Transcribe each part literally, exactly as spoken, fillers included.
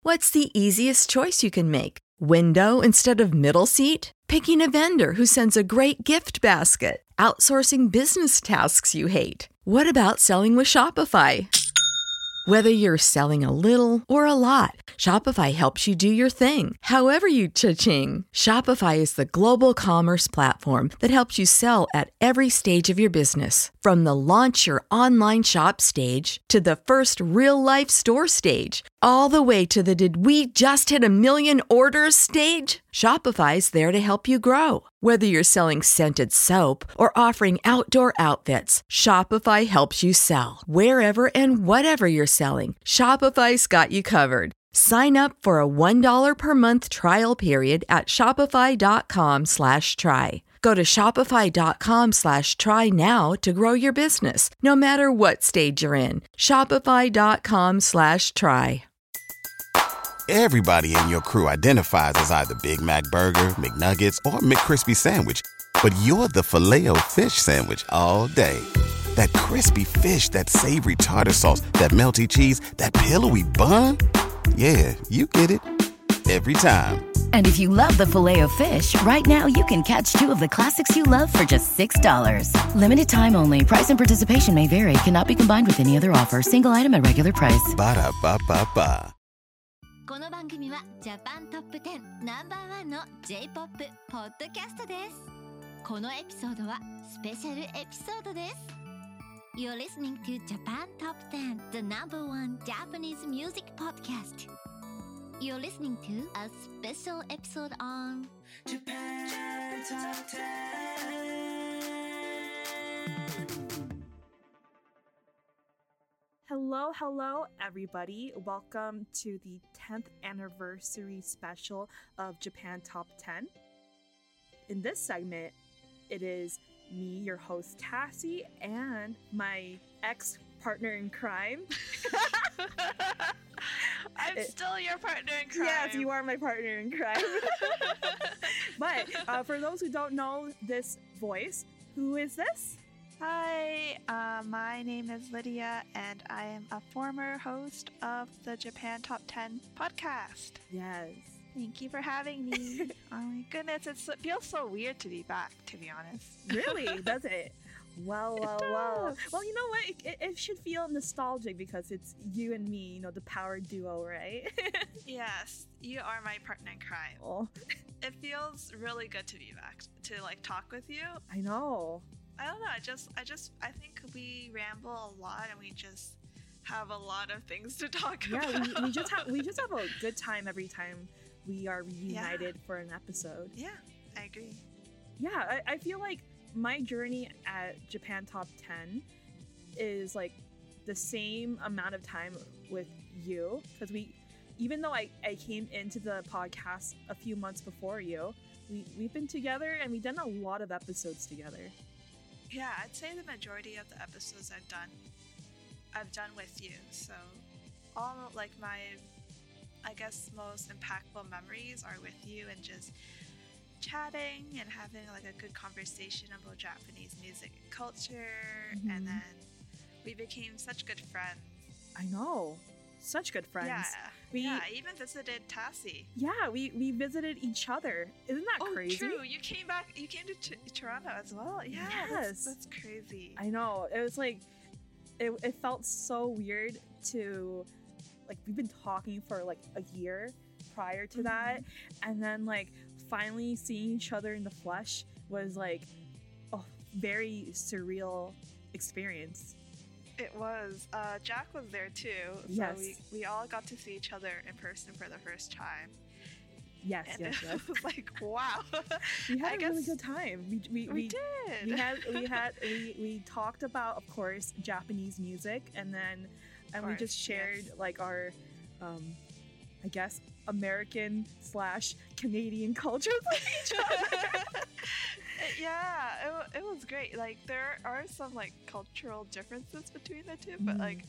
What's the easiest choice you can make? Window instead of middle seat? Picking a vendor who sends a great gift basket? Outsourcing business tasks you hate? What about selling with Shopify? Whether you're selling a little or a lot, Shopify helps you do your thing, however you cha-ching. Shopify is the global commerce platform that helps you sell at every stage of your business. From the launch your online shop stage to the first real-life store stage, all the way to the did we just hit a million orders stage. Shopify's there to help you grow. Whether you're selling scented soap or offering outdoor outfits, Shopify helps you sell. Wherever and whatever you're selling, Shopify's got you covered. Sign up for a one dollar per month trial period at shopify.com slash try. Go to shopify.com slash try now to grow your business, no matter what stage you're in. Shopify.com slash try. Everybody in your crew identifies as either Big Mac Burger, McNuggets, or McCrispy Sandwich. But you're the Filet-O-Fish Sandwich all day. That crispy fish, that savory tartar sauce, that melty cheese, that pillowy bun. Yeah, you get it. Every time. And if you love the Filet-O-Fish, right now you can catch two of the classics you love for just six dollars. Limited time only. Price and participation may vary. Cannot be combined with any other offer. Single item at regular price. Ba-da-ba-ba-ba. この番組はジャパントップテンナンバーワンの J-ポップ ポッドキャストです。このエピソードはスペシャルエピソードです。You're listening to Japan Top ten, the number one Japanese music podcast. You're listening to a special episode on Japan Top ten. Hello, hello, everybody. Welcome to the tenth anniversary special of Japan Top ten. In this segment, it is me, your host, Tassie, and my ex-partner in crime. I'm it, still your partner in crime. Yes, you are my partner in crime. But uh, for those who don't know this voice, who is this? Hi, uh, my name is Lydia, and I am a former host of the Japan Top ten podcast. Yes. Thank you for having me. Oh my goodness, it's, it feels so weird to be back, to be honest. Really? Does it? Well, well, It well. does. Well, you know what? It, it should feel nostalgic because it's you and me, you know, the power duo, right? Yes, you are my partner in crime. Oh, It feels really good to be back, to like talk with you. I know. I don't know, I just, I just, I think we ramble a lot and we just have a lot of things to talk Yeah, about. we, we just have we just have a good time every time we are reunited Yeah. for an episode. Yeah, I agree. Yeah, I, I feel like my journey at Japan Top ten is like the same amount of time with you because we, even though I, I came into the podcast a few months before you, we, we've been together and we've done a lot of episodes together. Yeah, I'd say the majority of the episodes I've done, I've done with you. So, all like my, I guess, most impactful memories are with you and just chatting and having like a good conversation about Japanese music and culture. Mhm. And then we became such good friends. I know. Such good friends. Yeah, We- yeah. I even visited Tassie. Yeah, we, we visited each other. Isn't that Oh, crazy? true. You came back. You came to T- Toronto as well. Yeah, Yes. that's, that's crazy. I know. It was like, it, it felt so weird to, like, we've been talking for like a year prior to that. And then, like, finally seeing each other in the flesh was like a very surreal experience. It was. Uh, Jack was there too. So Yes. we, we all got to see each other in person for the first time. Yes, And yes, yes. it was like, wow. We had I a guess really good time. We, we, we, we, did. we had we had we, we talked about, of course, Japanese music, and then and we course, just shared yes. like our um I guess American slash Canadian cultures with each other. Yeah, it, wa- it was great. Like, there are some, like, cultural differences between the two, but, Mhm. like,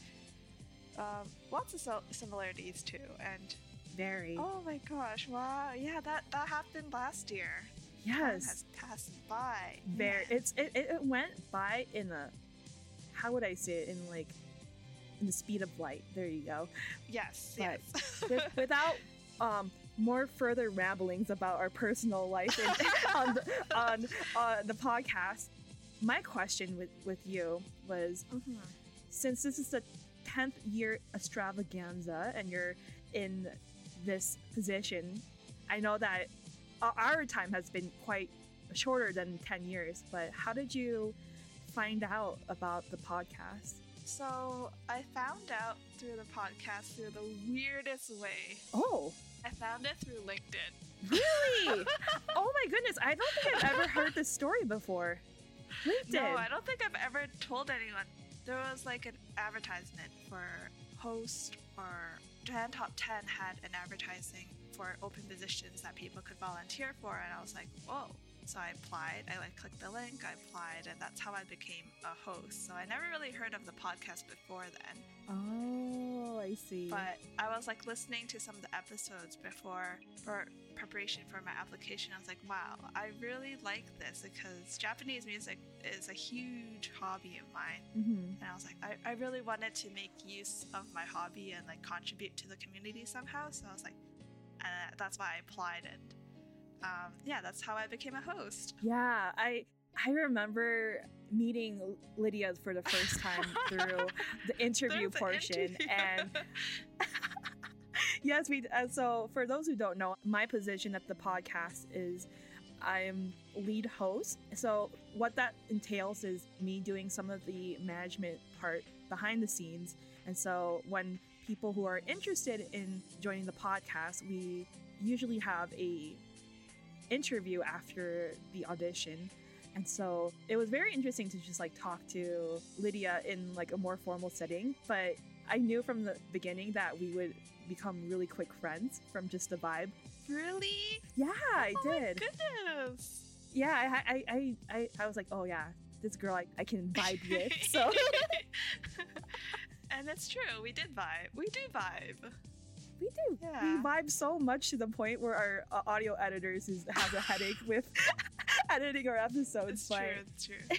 um, lots of sil- similarities, too. And, Very. oh my gosh, wow. Yeah, that, that happened last year. Time Yes. has passed by. Very. Yeah. It's it, it it went by in a, how would I say it, in like in the speed of light. There you go. Yes, But yes. with, without um, more further ramblings about our personal life in, on, the, on on the podcast, my question with, with you was, Mhm. since this is the tenth year extravaganza and you're in this position, I know that o- our time has been quite shorter than ten years, but how did you find out about the podcast? So I found out through the podcast through the weirdest way. Oh, I found it through LinkedIn. really? Oh my goodness, I don't think I've ever heard this story before. LinkedIn. No, I don't think I've ever told anyone. There was like an advertisement for host, or Japan Top ten had an advertising for open positions that people could volunteer for, and I was like, whoa. So I applied, I like clicked the link, I applied, and that's how I became a host. So I never really heard of the podcast before then. Oh, I see. But I was like listening to some of the episodes before for preparation for my application. I was like, wow, I really like this because Japanese music is a huge hobby of mine. Mm-hmm. And I was like, I, I really wanted to make use of my hobby and like contribute to the community somehow. So I was like, and that's why I applied, and um, yeah, that's how I became a host. Yeah, I I remember meeting Lydia for the first time through the interview There's an portion, interview. and yes, we. Uh, so for those who don't know, my position at the podcast is I'm lead host. So what that entails is me doing some of the management part behind the scenes, and so when people who are interested in joining the podcast, we usually have a interview after the audition. And so it was very interesting to just like talk to Lydia in like a more formal setting, but I knew from the beginning that we would become really quick friends from just the vibe. Really? Yeah, I Oh my did. goodness. Yeah, I, I, I, I, I was like, oh yeah, this girl I, I can vibe with. So And it's true, we did vibe. We do vibe. we do. Yeah. We vibe so much to the point where our uh, audio editors is, have a headache with editing our episodes. It's but true, it's true.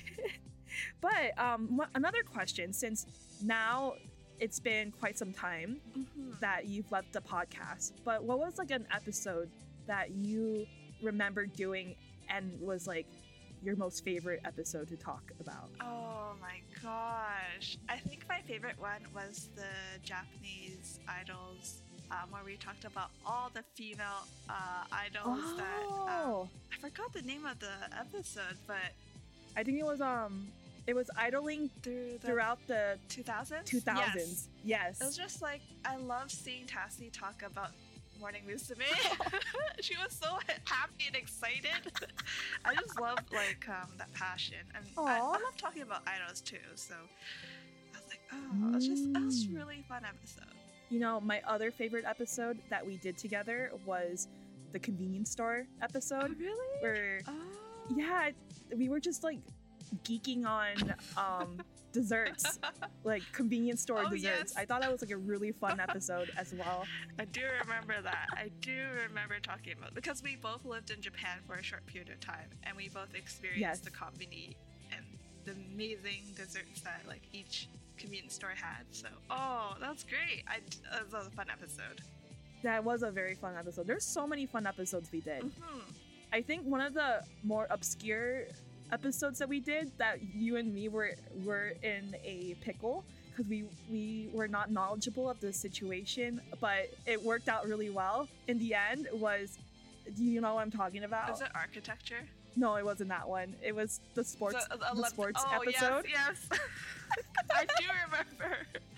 But um, wha- another question, since now it's been quite some time Mhm. that you've left the podcast, but what was like an episode that you remember doing and was like your most favorite episode to talk about? Oh my gosh. I think my favorite one was the Japanese idols, um, where we talked about all the female uh, idols that. Um, Oh, I forgot the name of the episode, but I think it was um, it was idling through the throughout the two thousands? two thousands. Yes. It was just like, I love seeing Tassie talk about Morning Musume. She was so happy and excited. I just love like um, that passion, and I, I Aw. love talking about idols too. So I was like, oh, it was just it was a Mm. really fun episode. You know, my other favorite episode that we did together was the convenience store episode. really? Where Oh. yeah, we were just like geeking on um desserts, like convenience store Oh, desserts. yes. I thought that was like a really fun episode as well. I do remember that. I do remember talking about, because we both lived in Japan for a short period of time, and we both experienced Yes. the konbini and the amazing desserts that like each convenience store had. So, oh, that's great. I that was a fun episode. That was a very fun episode. There's so many fun episodes we did. Mhm. I think one of the more obscure episodes that we did, that you and me were were in a pickle because we we were not knowledgeable of the situation, but it worked out really well in the end. Was, do you know what I'm talking about? Is it architecture? No, it wasn't that one. It was the sports The- the, ele- sports oh, episode. Yes, yes. I do remember.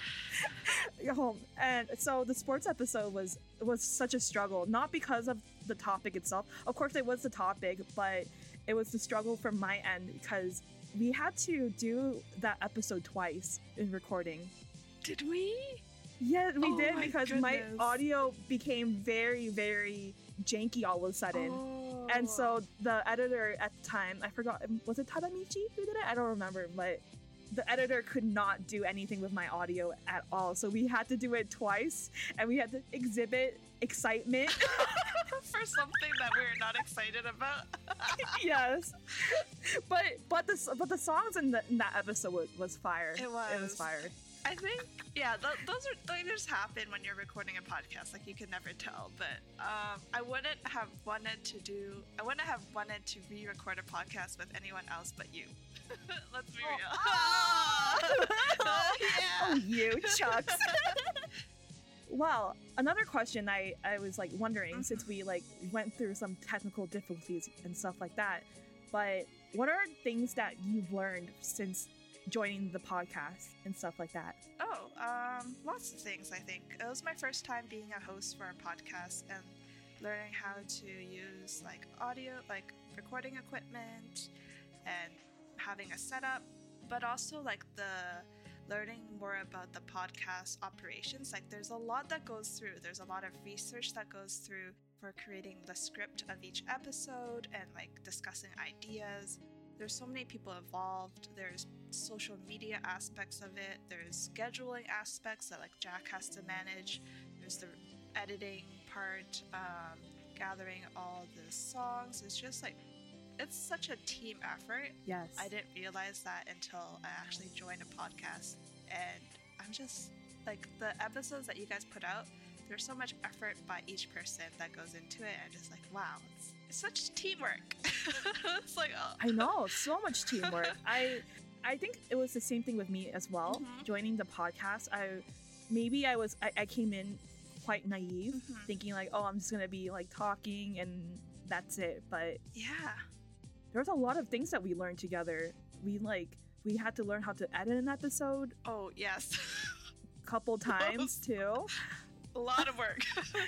Home. And so the sports episode was was such a struggle, not because of the topic itself. Of course, it was the topic, but it was the struggle from my end because we had to do that episode twice in recording. Did we? Yeah, we Oh did my because my goodness. audio became very, very janky all of a sudden. Oh. And so the editor at the time, I forgot, was it Tadamichi who did it? I don't remember, but the editor could not do anything with my audio at all. So we had to do it twice, and we had to exhibit excitement. for something that we're not excited about. Yes. But but the but the songs in, the, in that episode was, was fire. It It was was. fire. I think, yeah, th- those are those just happen when you're recording a podcast. Like you can never tell. But um, I wouldn't have wanted to do. I wouldn't have wanted to re-record a podcast with anyone else but you. Let's be Oh. real. Oh. Oh, yeah. Oh, you chucks. Well, another question I, I was like wondering, Mhm. since we like went through some technical difficulties and stuff like that, but what are things that you've learned since joining the podcast and stuff like that? Oh, um, lots of things, I think. It was my first time being a host for a podcast and learning how to use like audio, like recording equipment and having a setup, but also like the learning more about the podcast operations. Like there's a lot that goes through. There's a lot of research that goes through for creating the script of each episode and like discussing ideas. There's so many people involved. There's social media aspects of it. There's scheduling aspects that like Jack has to manage. There's the editing part, um, gathering all the songs. It's just like, it's such a team effort. Yes. I didn't realize that until I actually joined a podcast. And I'm just like, the episodes that you guys put out, there's so much effort by each person that goes into it. And just like, wow, it's, it's such teamwork. It's like, oh. I know, so much teamwork. I I think it was the same thing with me as well. Mhm. Joining the podcast, I maybe I was I, I came in quite naive, Mhm. thinking like, oh, I'm just gonna be like talking and that's it. But Yeah. there's a lot of things that we learned together. We like we had to learn how to edit an episode Oh, yes. a couple times too. A lot of work.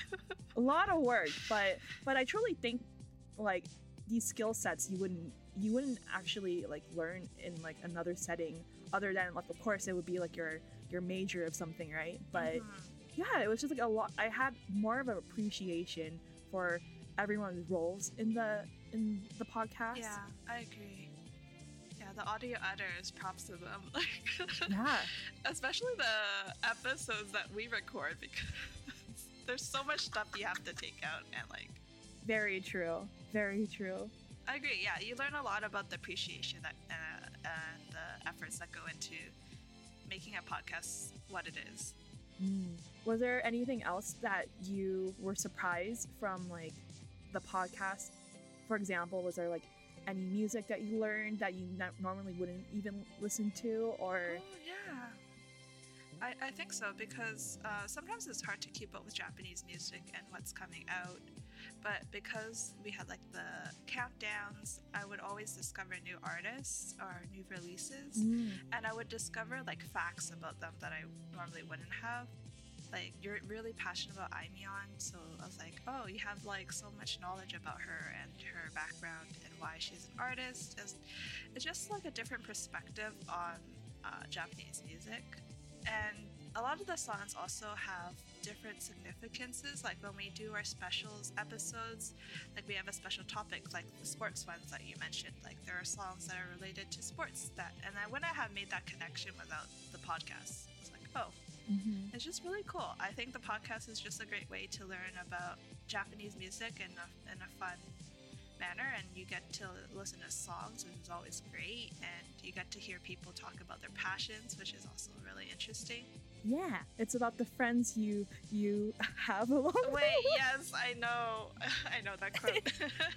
A lot of work, but but I truly think like these skill sets you wouldn't you wouldn't actually like learn in like another setting other than like of course it would be like your your major of something, right? But Mhm. yeah, it was just like a lot. I had more of an appreciation for everyone's roles in the in the podcast. Yeah, I agree. Yeah, the audio editors, props to them. Like, Yeah. especially the episodes that we record, because there's so much stuff you have to take out and like. Very true. Very true. I agree. Yeah, you learn a lot about the appreciation that uh, and the efforts that go into making a podcast what it is. Mm. Was there anything else that you were surprised from like the podcast? For example, was there like any music that you learned that you not normally wouldn't even listen to, or? Oh yeah, I, I think so, because uh, sometimes it's hard to keep up with Japanese music and what's coming out. But because we had like the countdowns, I would always discover new artists or new releases, Mm. and I would discover like facts about them that I normally wouldn't have. Like, you're really passionate about Aimyon, so I was like, oh, you have like so much knowledge about her and her background and why she's an artist. It's, it's just like a different perspective on uh, Japanese music. And a lot of the songs also have different significances. Like when we do our specials episodes, like we have a special topic, like the sports ones that you mentioned. Like there are songs that are related to sports that, and I wouldn't have made that connection without the podcast. It's like, oh, Mhm. it's just really cool. I think the podcast is just a great way to learn about Japanese music in a, in a fun manner, and you get to listen to songs, which is always great, and you get to hear people talk about their passions, which is also really interesting. Yeah, it's about the friends you you have along the Wait, way. yes, I know. I know that quote.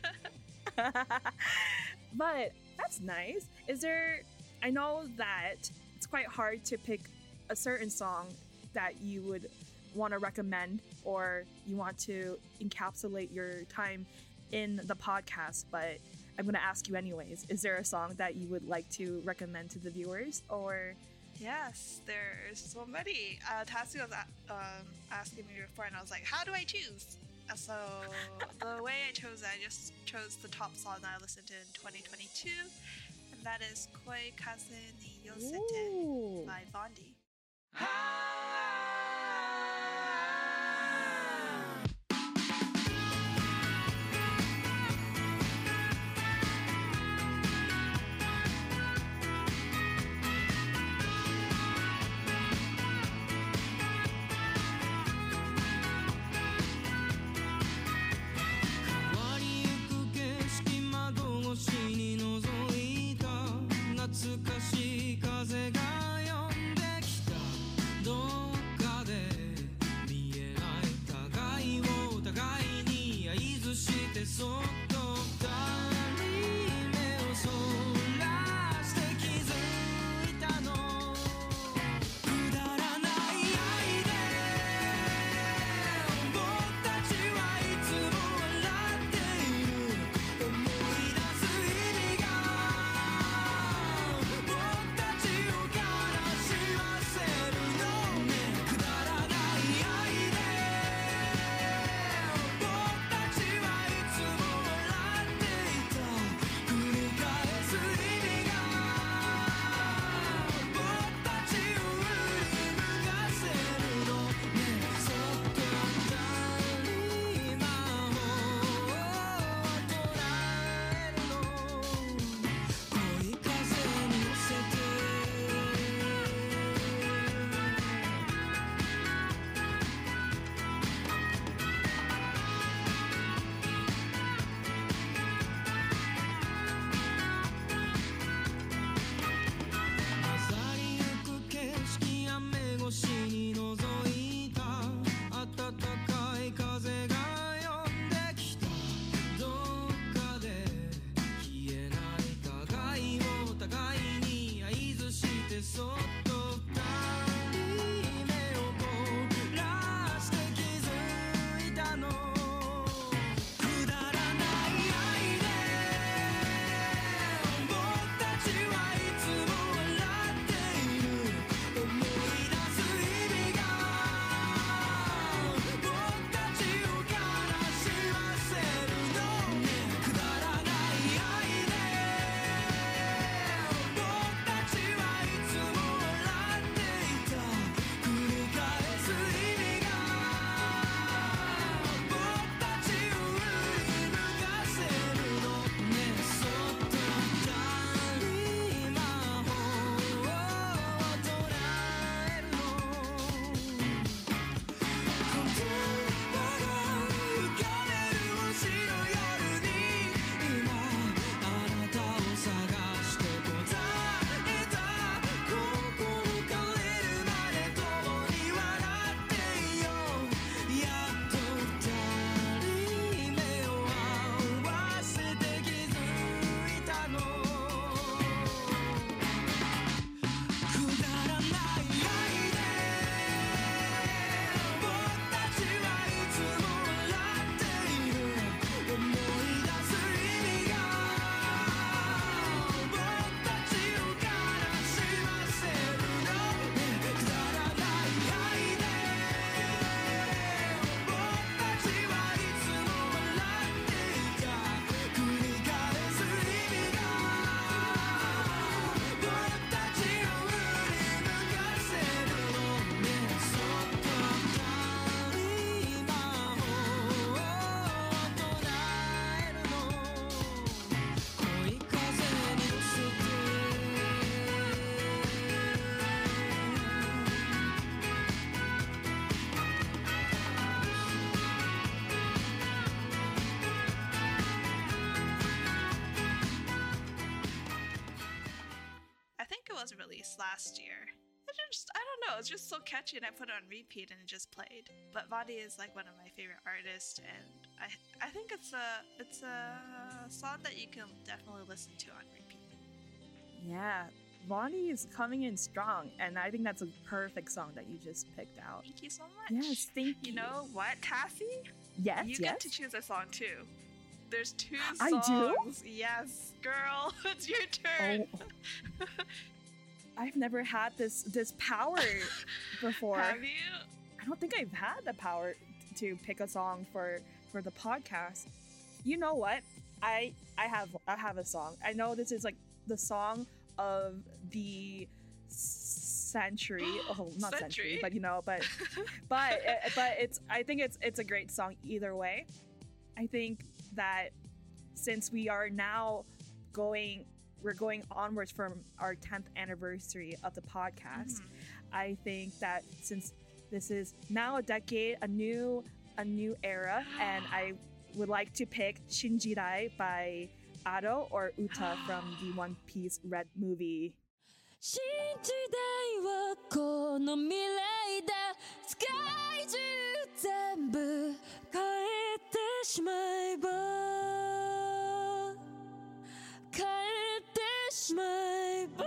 But that's nice. Is there, I know that it's quite hard to pick a certain song that you would want to recommend or you want to encapsulate your time in the podcast, but I'm going to ask you anyways. Is there a song that you would like to recommend to the viewers, or? Yes, there's so many. Uh, Tassie was a- um, asking me before, and I was like, how do I choose? Uh, So the way I chose it, I just chose the top song that I listened to in twenty twenty-two, and that is Koi Kaze ni Yosete Ooh. by Bondi. last year. It just, I don't know, it's just so catchy, and I put it on repeat and it just played. But Vaundy is like one of my favorite artists, and I I think it's a it's a song that you can definitely listen to on repeat. Yeah, Vaundy is coming in strong, and I think that's a perfect song that you just picked out. Thank you so much. Yes, thank you. You know what, Cassie? Yes, You yes. get to choose a song too. There's two I songs. do? Yes, girl, it's your turn. Oh. I've never had this this power before. Have you? I don't think I've had the power to pick a song for for the podcast. You know what? I I have I have a song. I know this is like the song of the century. Oh, not century, Century? but you know, but but but it's I think it's it's a great song either way. I think that since we are now going we're going onwards from our tenth anniversary of the podcast, Mhm. I think that since this is now a decade, a new a new era, and I would like to pick Shinjirai by Ado or Uta from the One Piece Red movie. 新時代はこの未来だ世界中全部変えてしまえば変えてしまえば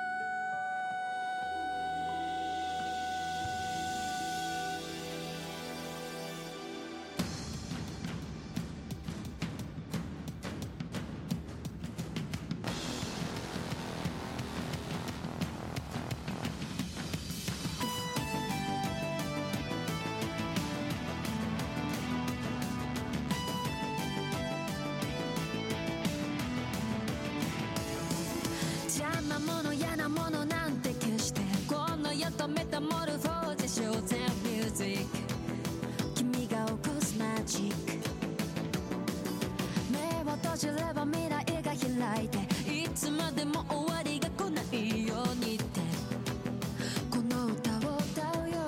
邪魔者嫌なものなんて決してこの世とメタモルフォーゼショーゼンミュージック君が起こすマジック目を閉じれば未来が開いていつまでも終わりが来ないようにってこの歌を歌うよ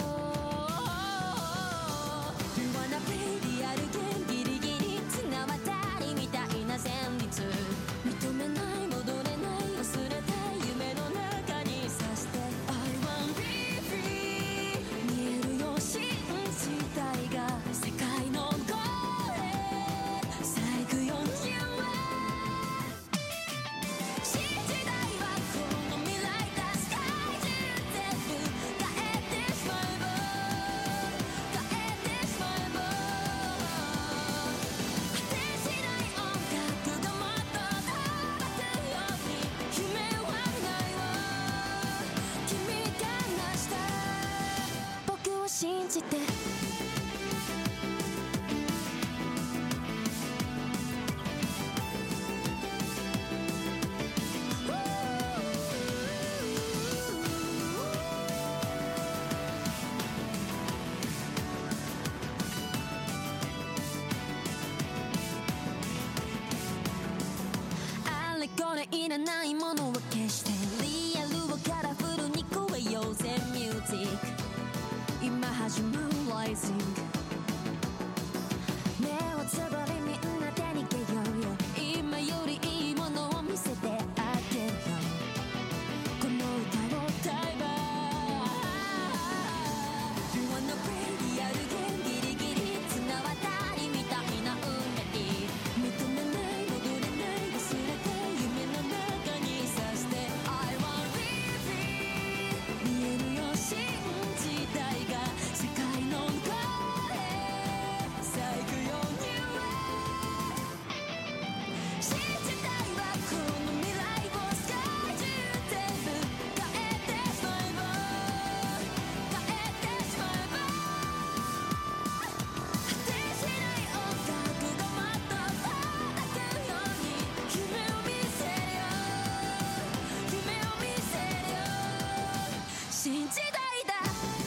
You wanna be リアルゲンギリギリ綱渡りみたいな旋律認めない戻れない忘れた夢の中にさして I want be free 見えるよ信じたいが世界のゴールへさあ行くよ You are 新時代はこの未来だ世界中全部変えてしまえば変えてしまえば果てしない音楽がもっと届くように夢はないわ君が成した僕を信じてあれこれいらないものは消してリアルをカラフルに超えようぜミュージック今始まるライジング目をつぶりみんなで逃げようよ今よりいいものを見せてあげるよこの歌を歌えば You wanna play リアルゲンギリギリ綱渡りみたいな運命認めない戻れない忘れた夢の中にさして I want be free 見えるよ信じたいが世界のゴールへさあ行くよ You are 新時代はこの未来を世界中全部変えてしまえば変えてしまえば果てしない音楽がもっと届くように夢を見せるよ夢を見せるよ新時代だ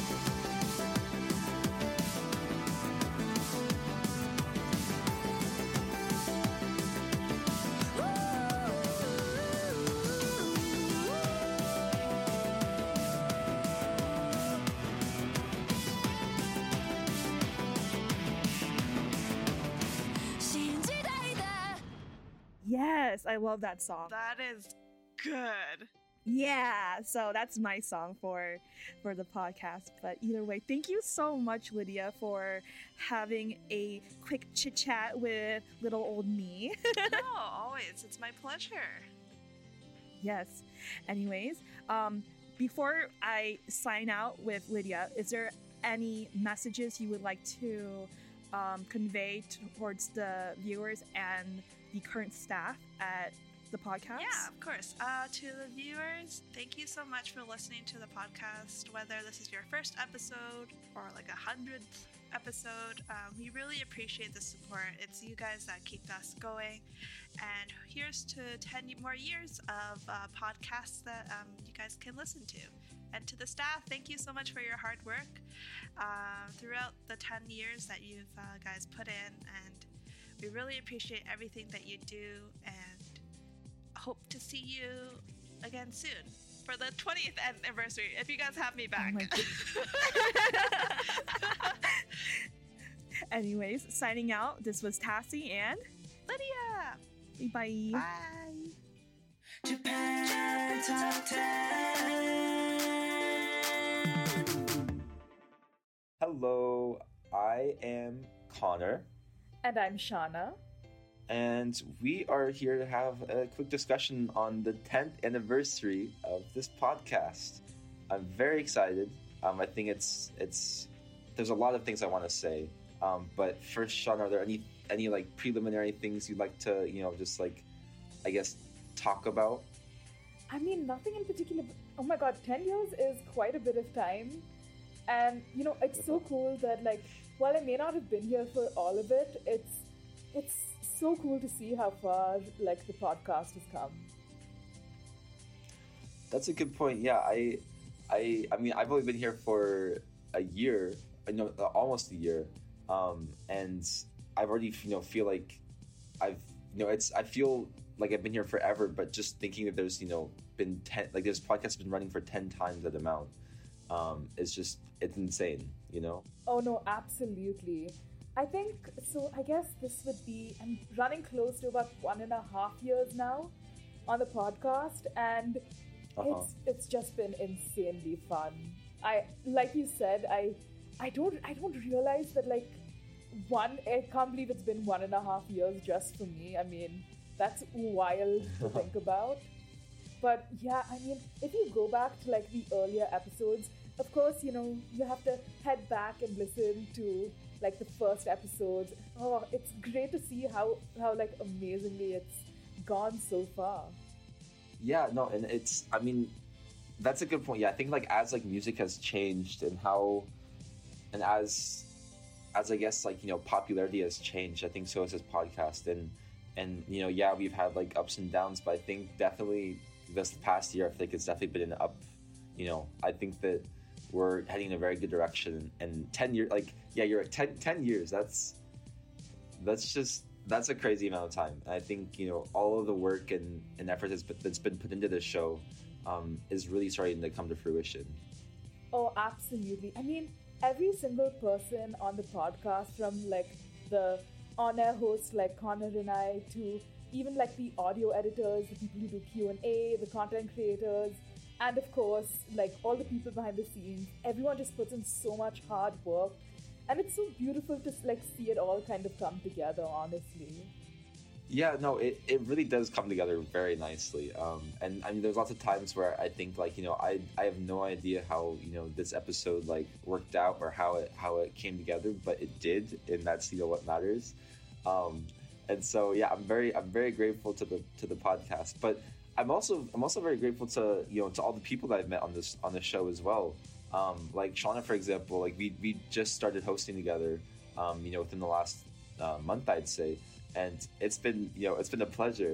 新時代だ Yes, I love that song. That is good. Yeah, so that's my song for for the podcast. But either way, thank you so much, Lydia, for having a quick chit chat with little old me. No, always. It's my pleasure. Yes. Anyways, um, before I sign out with Lydia, is there any messages you would like to um, convey towards the viewers and the current staff at the podcast? Yeah, of course. Uh, to the viewers, thank you so much for listening to the podcast. Whether this is your first episode or like a hundredth episode, um, we really appreciate the support. It's you guys that keep us going. And here's to ten more years of uh, podcasts that um, you guys can listen to. And to the staff, thank you so much for your hard work uh, throughout the ten years that you've uh, guys put in. And we really appreciate everything that you do, and hope to see you again soon for the twentieth anniversary, if you guys have me back. Oh Anyways, signing out, this was Tassie and Lydia. bye. Bye. Japan Top ten. Hello, I am Connor, And I'm Shauna. and we are here to have a quick discussion on the tenth anniversary of this podcast. I'm very excited. Um, I think it's it's there's a lot of things I want to say. Um, but first, Shauna, are there any any like preliminary things you'd like to you know just like I guess talk about? I mean, nothing in particular. Oh my god, ten years is quite a bit of time. And, you know, it's so cool that, like, while I may not have been here for all of it, it's it's so cool to see how far, like, the podcast has come. That's a good point. Yeah, I, I, I mean, I've only been here for a year, I know, almost a year, um, and I've already, you know, feel like I've, you know, it's, I feel like I've been here forever. But just thinking that there's, you know, been ten, like this podcast has been running for ten times that amount, um, is just, it's insane, you know. Oh no, absolutely. I think, so I guess this would be, I'm running close to about one and a half years now on the podcast, and Uh-huh. it's it's just been insanely fun. I, like you said, I I don't I don't realize that, like, one, I can't believe it's been one and a half years just for me. I mean, that's wild to think about. But yeah, I mean, if you go back to, like, the earlier episodes, of course, you know, you have to head back and listen to, like, the first episodes. Oh, it's great to see how, how like, amazingly it's gone so far. Yeah, no, and it's, I mean, that's a good point. Yeah, I think, like, as, like, music has changed and how, and as, as I guess, like, you know, popularity has changed, I think so has this podcast. And, and, you know, yeah, we've had, like, ups and downs, but I think definitely this past year, I think it's definitely been an up, you know, I think that we're heading in a very good direction. And ten years, like, yeah, you're at ten, ten years, that's, that's just, that's a crazy amount of time. And I think, you know, all of the work and, and effort that's been, that's been put into this show um, is really starting to come to fruition. Oh, absolutely. I mean, every single person on the podcast, from, like, the on-air hosts like Connor and I, to even, like, the audio editors, the people who do Q and A, the content creators, and of course, like, all the people behind the scenes, everyone just puts in so much hard work. And it's so beautiful to, like, see it all kind of come together, honestly. Yeah, no, it, it really does come together very nicely. Um, and I mean, there's lots of times where I think, like, you know, I I have no idea how, you know, this episode, like, worked out or how it how it came together, but it did, and that's, you know, what matters. Um, and so, yeah, I'm very I'm very grateful to the to the podcast, but I'm also I'm also very grateful to, you know, to all the people that I've met on this on this show as well. Um, like Shauna, for example, like we we just started hosting together, um, you know, within the last uh, month, I'd say. And it's been, you know, it's been a pleasure.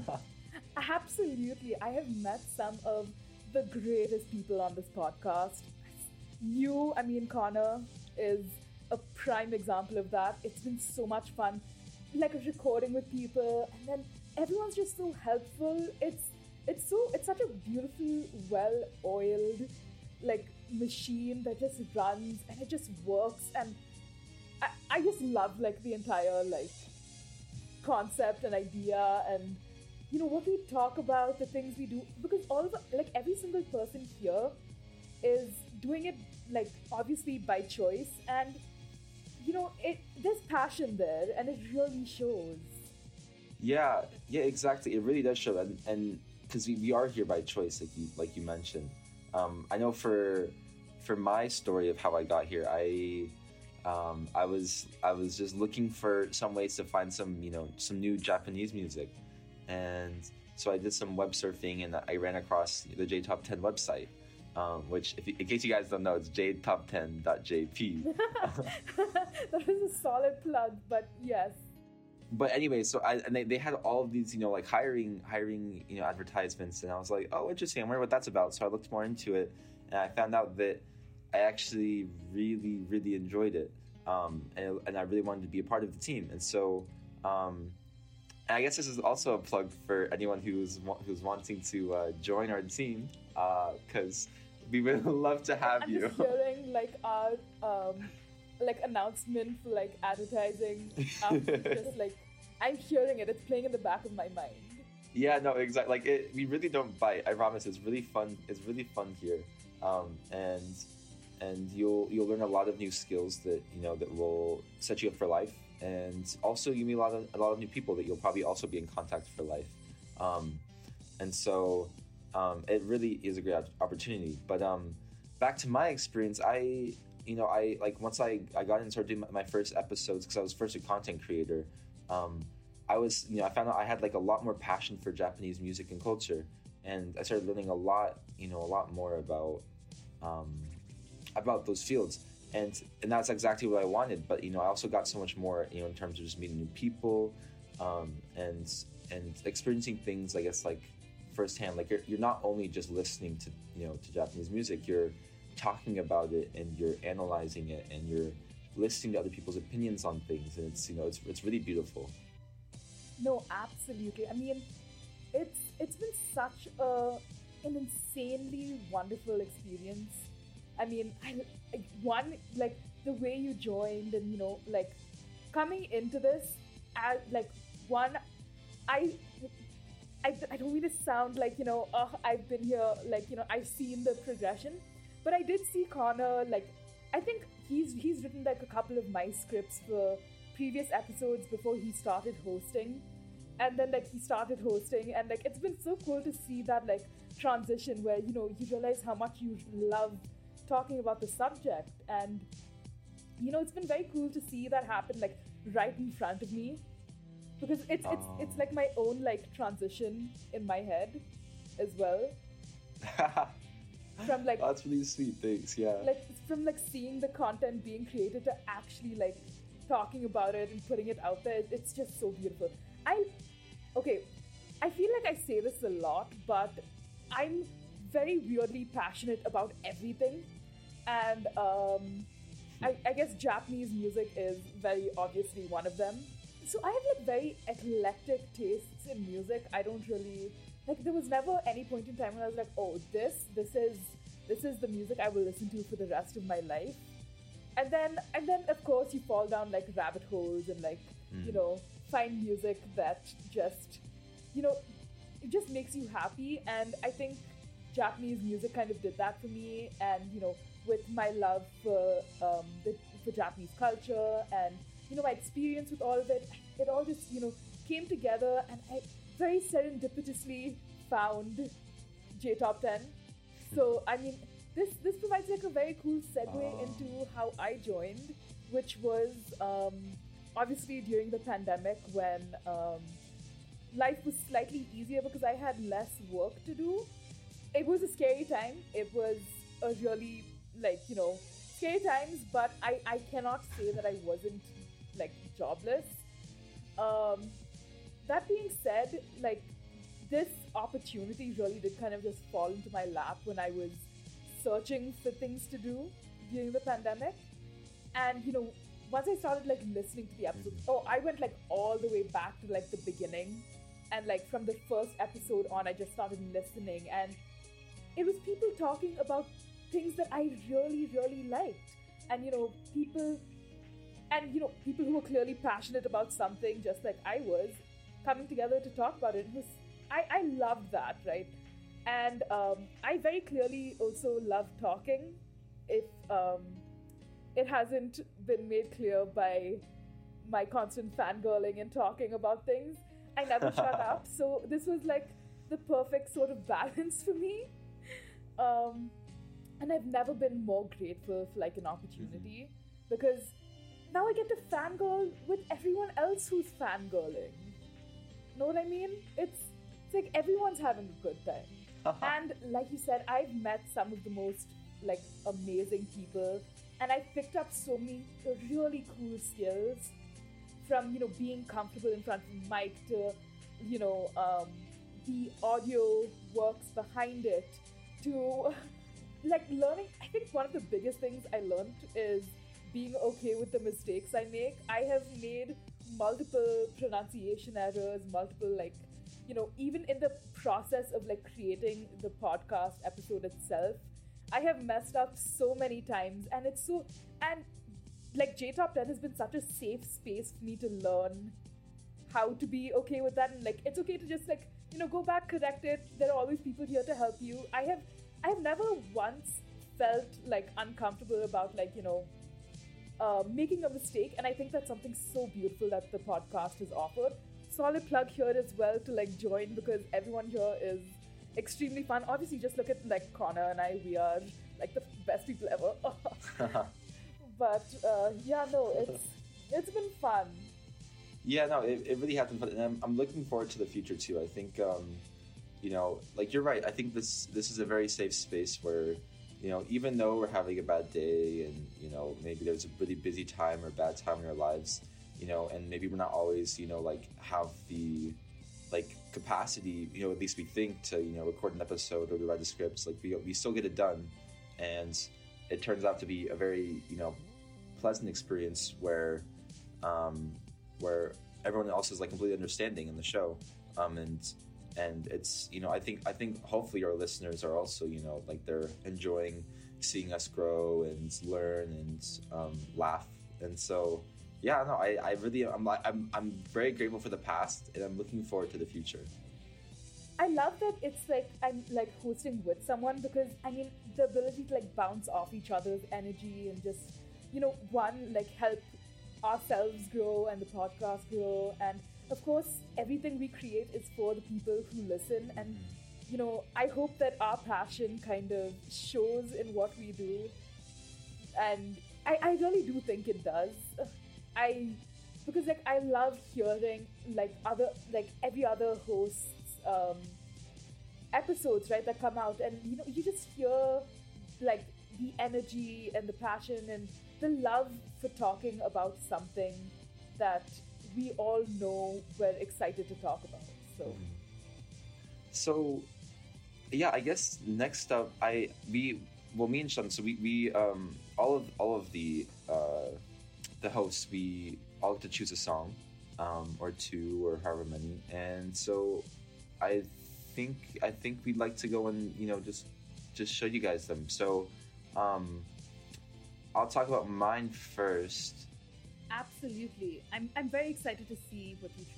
Absolutely. I have met some of the greatest people on this podcast. You, I mean, Connor is a prime example of that. It's been so much fun, like, recording with people, and then everyone's just so helpful. It's it's so it's such a beautiful, well-oiled, like, machine that just runs and it just works, and I, I just love, like, the entire, like, concept and idea, and you know, what we talk about, the things we do, because all of like every single person here is doing it like obviously by choice, and you know, it there's passion there, and it really shows. Yeah, yeah, exactly. It really does show, and and because we, we are here by choice, like you like you mentioned. Um, I know for for my story of how I got here, I um, I was I was just looking for some ways to find some you know some new Japanese music, and so I did some web surfing, and I ran across the J Top ten website. Um, which, if, in case you guys don't know, it's j top ten dot j p. That was a solid plug, but yes. But anyway, so I and they, they had all of these, you know, like hiring hiring, you know, advertisements, and I was like, oh, interesting. I wonder what that's about. So I looked more into it, and I found out that I actually really, really enjoyed it, um, and and I really wanted to be a part of the team. And so, um, and I guess this is also a plug for anyone who's who's wanting to uh, join our team, because uh, we would love to have I'm you. Just hearing like our um, like announcement for like advertising, um, just like I'm hearing it. It's playing in the back of my mind. Yeah, no, exactly. Like it, we really don't bite. I promise. It's really fun. It's really fun here, um, and and you'll you'll learn a lot of new skills that you know that will set you up for life, and also you meet a lot of a lot of new people that you'll probably also be in contact for life, um, and so um, it really is a great opportunity. But um, back to my experience, I you know I like once I I got in and started doing my first episodes because I was first a content creator. Um, I was, you know, I found out I had like a lot more passion for Japanese music and culture, and I started learning a lot, you know, a lot more about um, about those fields, and and that's exactly what I wanted. But you know, I also got so much more, you know, in terms of just meeting new people, um, and and experiencing things, I guess, like firsthand. Like you're you're not only just listening to you know to Japanese music, you're talking about it and you're analyzing it and you're listening to other people's opinions on things, and it's you know it's it's really beautiful. No, absolutely. I mean, it's it's been such a an insanely wonderful experience. I mean, I, I one like the way you joined, and you know, like coming into this as like one, I. I, I don't mean to sound like, you know, uh, I've been here, like, you know, I've seen the progression, but I did see Connor, like, I think he's he's written like a couple of my scripts for previous episodes before he started hosting, and then like he started hosting, and like it's been so cool to see that like transition where you know you realize how much you love talking about the subject, and you know it's been very cool to see that happen like right in front of me, because it's it's Oh. it's like my own like transition in my head as well. From like That's really sweet. Thanks. Yeah. like from like seeing the content being created to actually like talking about it and putting it out there, it's just so beautiful. I okay I feel like I say this a lot, but I'm very weirdly passionate about everything, and um I, I guess Japanese music is very obviously one of them. So I have like very eclectic tastes in music. I don't really like there was never any point in time when I was like, oh, this this is this is the music I will listen to for the rest of my life. And then and then of course you fall down like rabbit holes and like Mm. you know find music that just you know it just makes you happy. And I think Japanese music kind of did that for me. And you know with my love for um the for Japanese culture and you know my experience with all of it, it all just you know came together, and I very serendipitously found J Top ten. So I mean this this provides like a very cool segue Oh. into how I joined, which was um obviously during the pandemic when um life was slightly easier because I had less work to do. It was a scary time. It was a really like you know scary times, but I I cannot say that I wasn't like jobless. Um, that being said, like this opportunity really did kind of just fall into my lap when I was searching for things to do during the pandemic. And you know, once I started like listening to the episodes, oh, I went like all the way back to like the beginning, and like from the first episode on, I just started listening, and it was people talking about things that I really, really liked, and you know, people. And, you know, people who were clearly passionate about something just like I was, coming together to talk about it. It was, I, I loved that, right? And um, I very clearly also love talking. If um, it hasn't been made clear by my constant fangirling and talking about things, I never shut up. So this was like the perfect sort of balance for me. Um, and I've never been more grateful for like an opportunity because now I get to fangirl with everyone else who's fangirling. Know what I mean? It's, it's like everyone's having a good time. And like you said, I've met some of the most like amazing people, and I've picked up so many really cool skills from, you know, being comfortable in front of a mic to, you know, um, the audio works behind it to like learning. I think one of the biggest things I learned is being okay with the mistakes I make. I have made multiple pronunciation errors, multiple like, you know, even in the process of like creating the podcast episode itself, I have messed up so many times. And it's so, and like J Top ten has been such a safe space for me to learn how to be okay with that. And like, it's okay to just like, you know, go back, correct it. There are always people here to help you. I have, I have never once felt like uncomfortable about like, you know, uh, making a mistake. And I think that's something so beautiful that the podcast has offered. Solid plug here as well to like join, because everyone here is extremely fun. Obviously, just look at like Connor and I, we are like the best people ever. But uh, yeah, no, it's it's been fun. Yeah, no, it, it really has been fun, and I'm, I'm looking forward to the future too. I think, um, you know, like you're right. I think this this is a very safe space where, you know, even though we're having a bad day and, you know, maybe there's a really busy time or bad time in our lives, you know, and maybe we're not always, you know, like have the like capacity, you know, at least we think to, you know, record an episode or to write the scripts, like we, we still get it done. And it turns out to be a very, you know, pleasant experience where, um, where everyone else is like completely understanding in the show. Um, and, and it's, you know, I think, I think hopefully our listeners are also, you know, like they're enjoying seeing us grow and learn and, um, laugh. And so, yeah, no, I, I really, I'm, I'm, I'm very grateful for the past, and I'm looking forward to the future. I love that it's like I'm like hosting with someone, because I mean the ability to like bounce off each other's energy and just, you know, one, like help ourselves grow and the podcast grow, and of course everything we create is for the people who listen. And you know, I hope that our passion kind of shows in what we do, and I, I really do think it does. I, because like I love hearing like other, like every other host's um, episodes, right, that come out, and you know, you just hear like the energy and the passion and the love for talking about something that we all know we're excited to talk about. So, so yeah, I guess next up, I we well, me and Sean, so we we um all of all of the uh. the hosts, we all get to choose a song, um, or two, or however many. And so I think I think we'd like to go and, you know, just just show you guys them. So um, I'll talk about mine first. Absolutely. I'm I'm very excited to see what you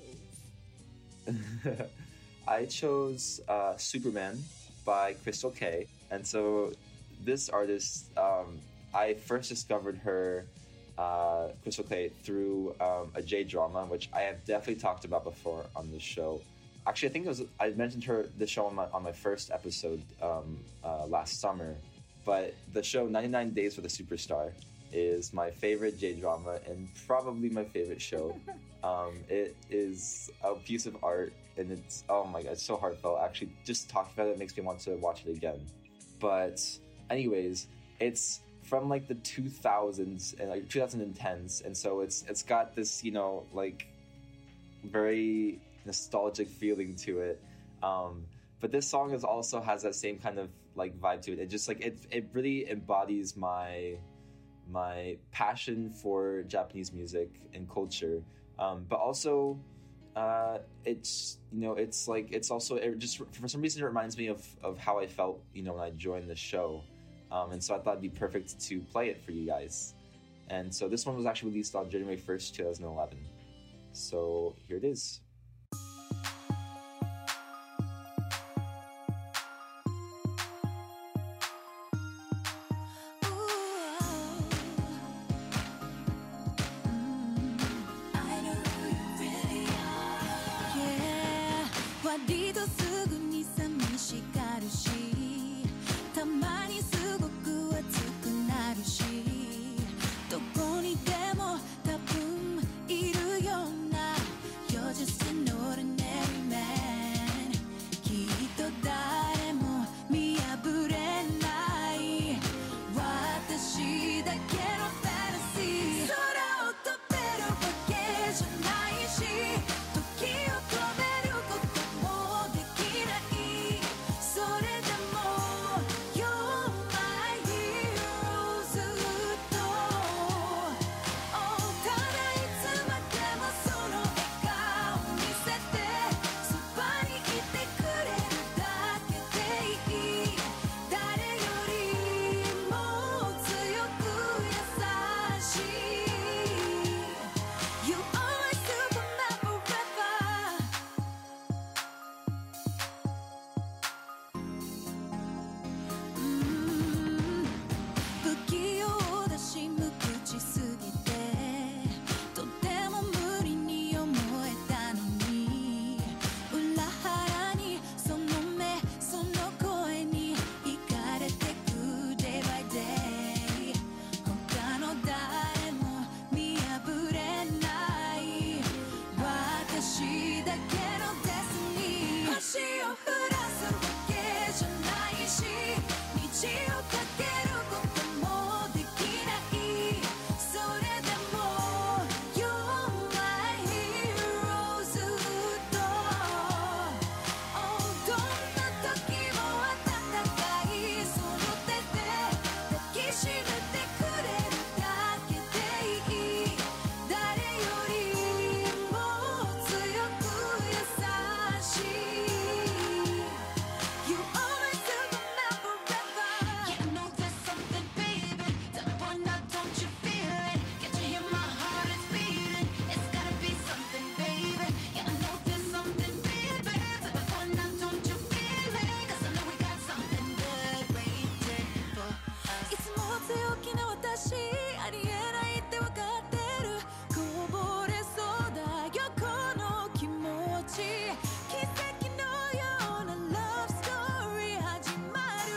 chose. I chose uh, Superman by Crystal K. And so this artist, um, I first discovered her Uh, Crystal K through um, a J drama, which I have definitely talked about before on this show. Actually, I think it was I mentioned her the show on my on my first episode um, uh, last summer. But the show ninety-nine Days with a Superstar is my favorite J drama and probably my favorite show. um, it is a piece of art, and it's oh my god, it's so heartfelt. Actually, just talking about it makes me want to watch it again. But anyways, it's from like the two thousands and like twenty tens, and so it's it's got this, you know, like very nostalgic feeling to it, um but this song is also has that same kind of like vibe to it. It just like it it really embodies my my passion for Japanese music and culture, um but also uh it's, you know, it's like it's also it just for some reason it reminds me of of how I felt, you know, when I joined the show. Um, and so I thought it'd be perfect to play it for you guys. And so this one was actually released on January first, twenty eleven. So here it is. だけのデスニー星を降らすわけじゃないし虹をかけることもできないそれでも You're my hero ずっと Oh どんな時も温かいその手で抱きしめてくれるだけでいい誰よりも強く優しい You always Superman forever Yeah, I know there's something, baby Tell me why not, don't you feel it Can't you hear my heart is beating It's gotta be something, baby Yeah, I know there's something, baby Tell me why not, don't you feel it Cause I know we got something good waiting for us いつも強気な私ありえないってわかってるこぼれそうだよこの気持ち奇跡のような Love story 始まる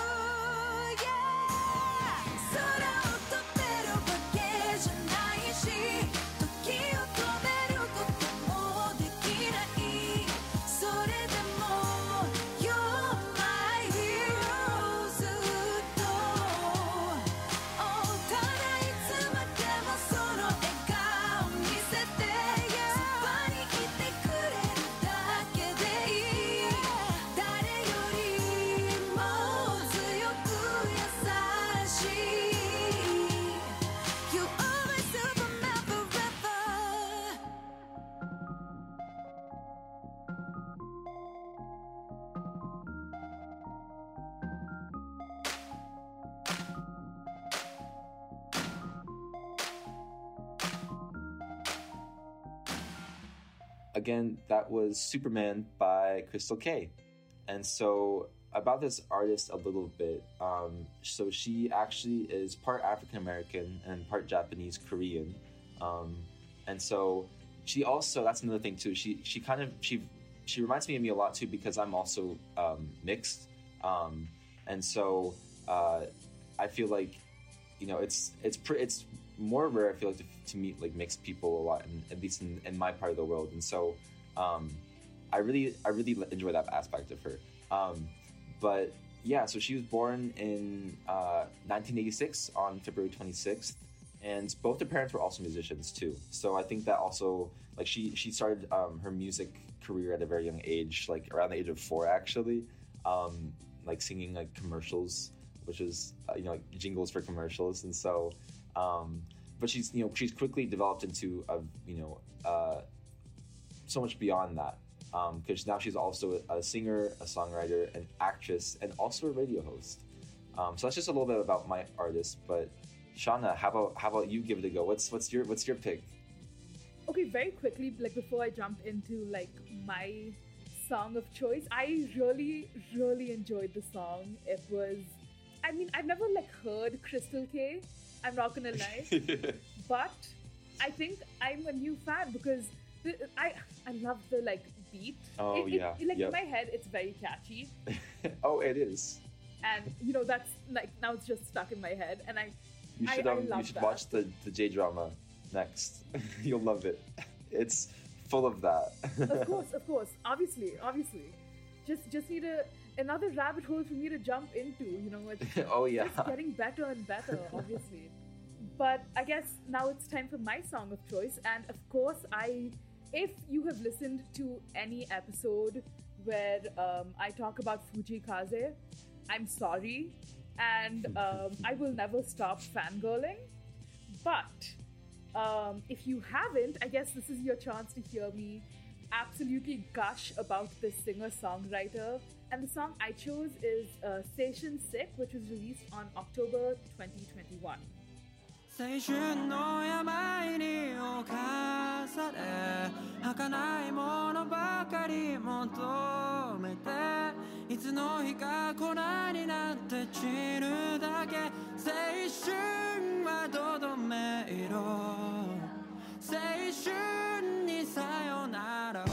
Yeah 空を飛べるわけじゃないし時を止めることもできないそれでも You're my hero ずっと Oh ただいつまでもその笑顔見せて Yeah そばにいてくれるだけでいい誰よりも強く優しい You are my Superman forever Again, that was Superman by Crystal K. And so about this artist a little bit. Um, so she actually is part African American and part Japanese Korean. Um, and so she also, that's another thing too. She she kind of she she reminds me of me a lot too because I'm also um, mixed. Um, and so uh, I feel like, you know, it's it's pre- it's more rare, I feel like, to, to meet like mixed people a lot, in, at least in, in my part of the world. And so um, I really I really enjoy that aspect of her. Um, but yeah, so she was born in uh, nineteen eighty-six on February twenty-sixth, and both her parents were also musicians too. So I think that also, like, she she started um, her music career at a very young age, like around the age of four actually, um, like singing like commercials, which is uh, you know, like jingles for commercials. And so um, but she's you know she's quickly developed into a you know uh, so much beyond that. Because um, now she's also a singer, a songwriter, an actress, and also a radio host. Um, so that's just a little bit about my artist. But Shauna, how about how about you give it a go? What's what's your what's your pick? Okay, very quickly, like before I jump into like my song of choice, I really really enjoyed the song. It was, I mean, I've never like heard Crystal K. I'm not gonna lie, but I think I'm a new fan because the, I I love the like. Beat. Oh it, yeah. It, like yep. in my head, it's very catchy. Oh, it is. And you know that's like now it's just stuck in my head, and I. You should I, um, I love you should that. watch the the J drama next. You'll love it. It's full of that. Of course, of course, obviously, obviously. Just just need a another rabbit hole for me to jump into. You know, it's oh yeah. It's getting better and better, obviously. But I guess now it's time for my song of choice, and of course I. If you have listened to any episode where um, I talk about Fujikaze, I'm sorry, and um, I will never stop fangirling. But um, if you haven't, I guess this is your chance to hear me absolutely gush about this singer-songwriter. And the song I chose is uh, Seishun Sick, which was released on October twenty twenty-one. 青春の病に侵され儚いものばかり求めていつの日か粉になって散るだけ青春はどどめ色青春にさよならを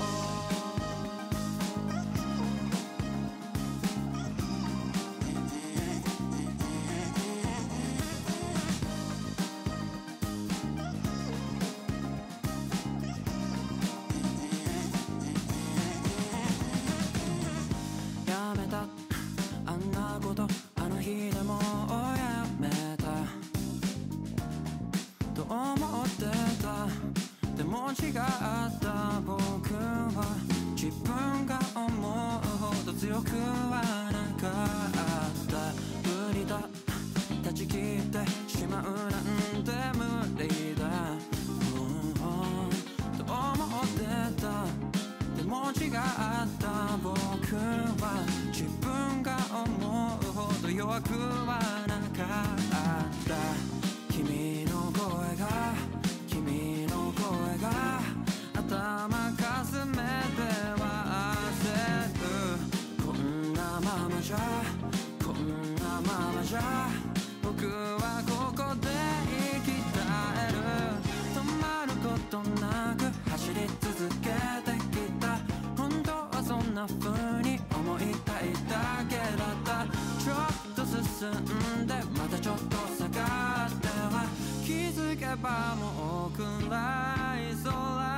じゃ僕はここで生き絶える止まることなく走り続けてきた本当はそんな風に思いたいだけだったちょっと進んでまたちょっと下がっては気づけばもう暗い空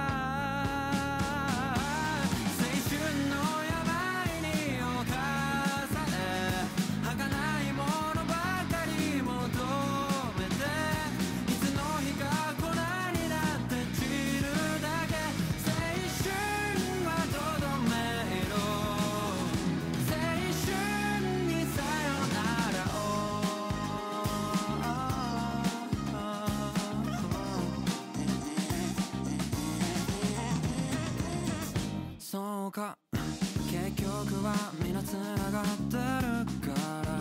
青春の病に侵され儚いものばかり求めていつの日か粉になって散るだけ青春はとどめろ青春にさよならをそうか結局は皆つながってるから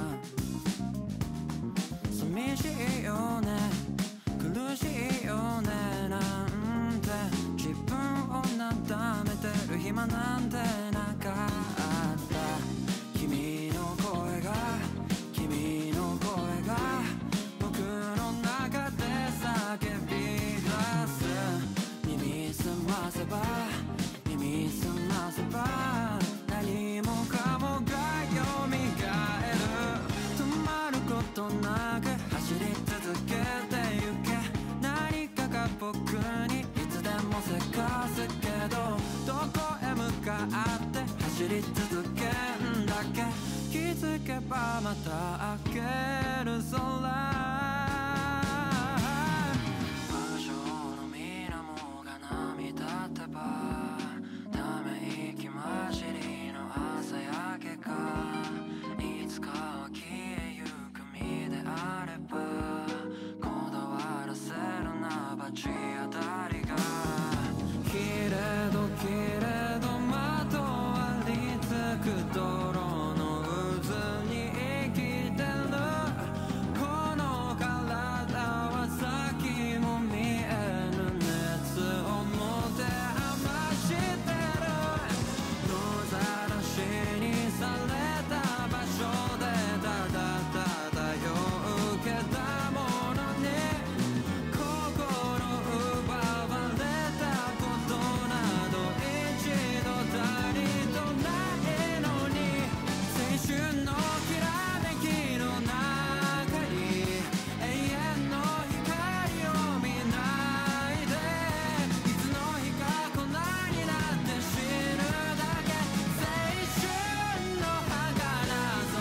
寂しいよね苦しいよねなんて自分をなだめてる暇なんてなかった君の声が君の声が僕の中で叫び出す耳すませば耳すませば何もかもが蘇る止まることなく走り続けてゆけ何かが僕にいつでもせかすけどどこへ向かって走り続けんだっけ気づけばまた明ける空無情の水面が波立てばため息混じりの朝焼けがいつかは消えゆく身であればこだわらせるな罰当たりがけれどけれどまとわりつく泥の渦に生きてるこの体は先も見えぬ熱を持て余してる野ざらしにされた場所でただただ夜受けたものに心奪われたことなど一度たりとないのに青春のきらめきの中に永遠の光を見ないでいつの日か粉になって死ぬだけ青春の儚さ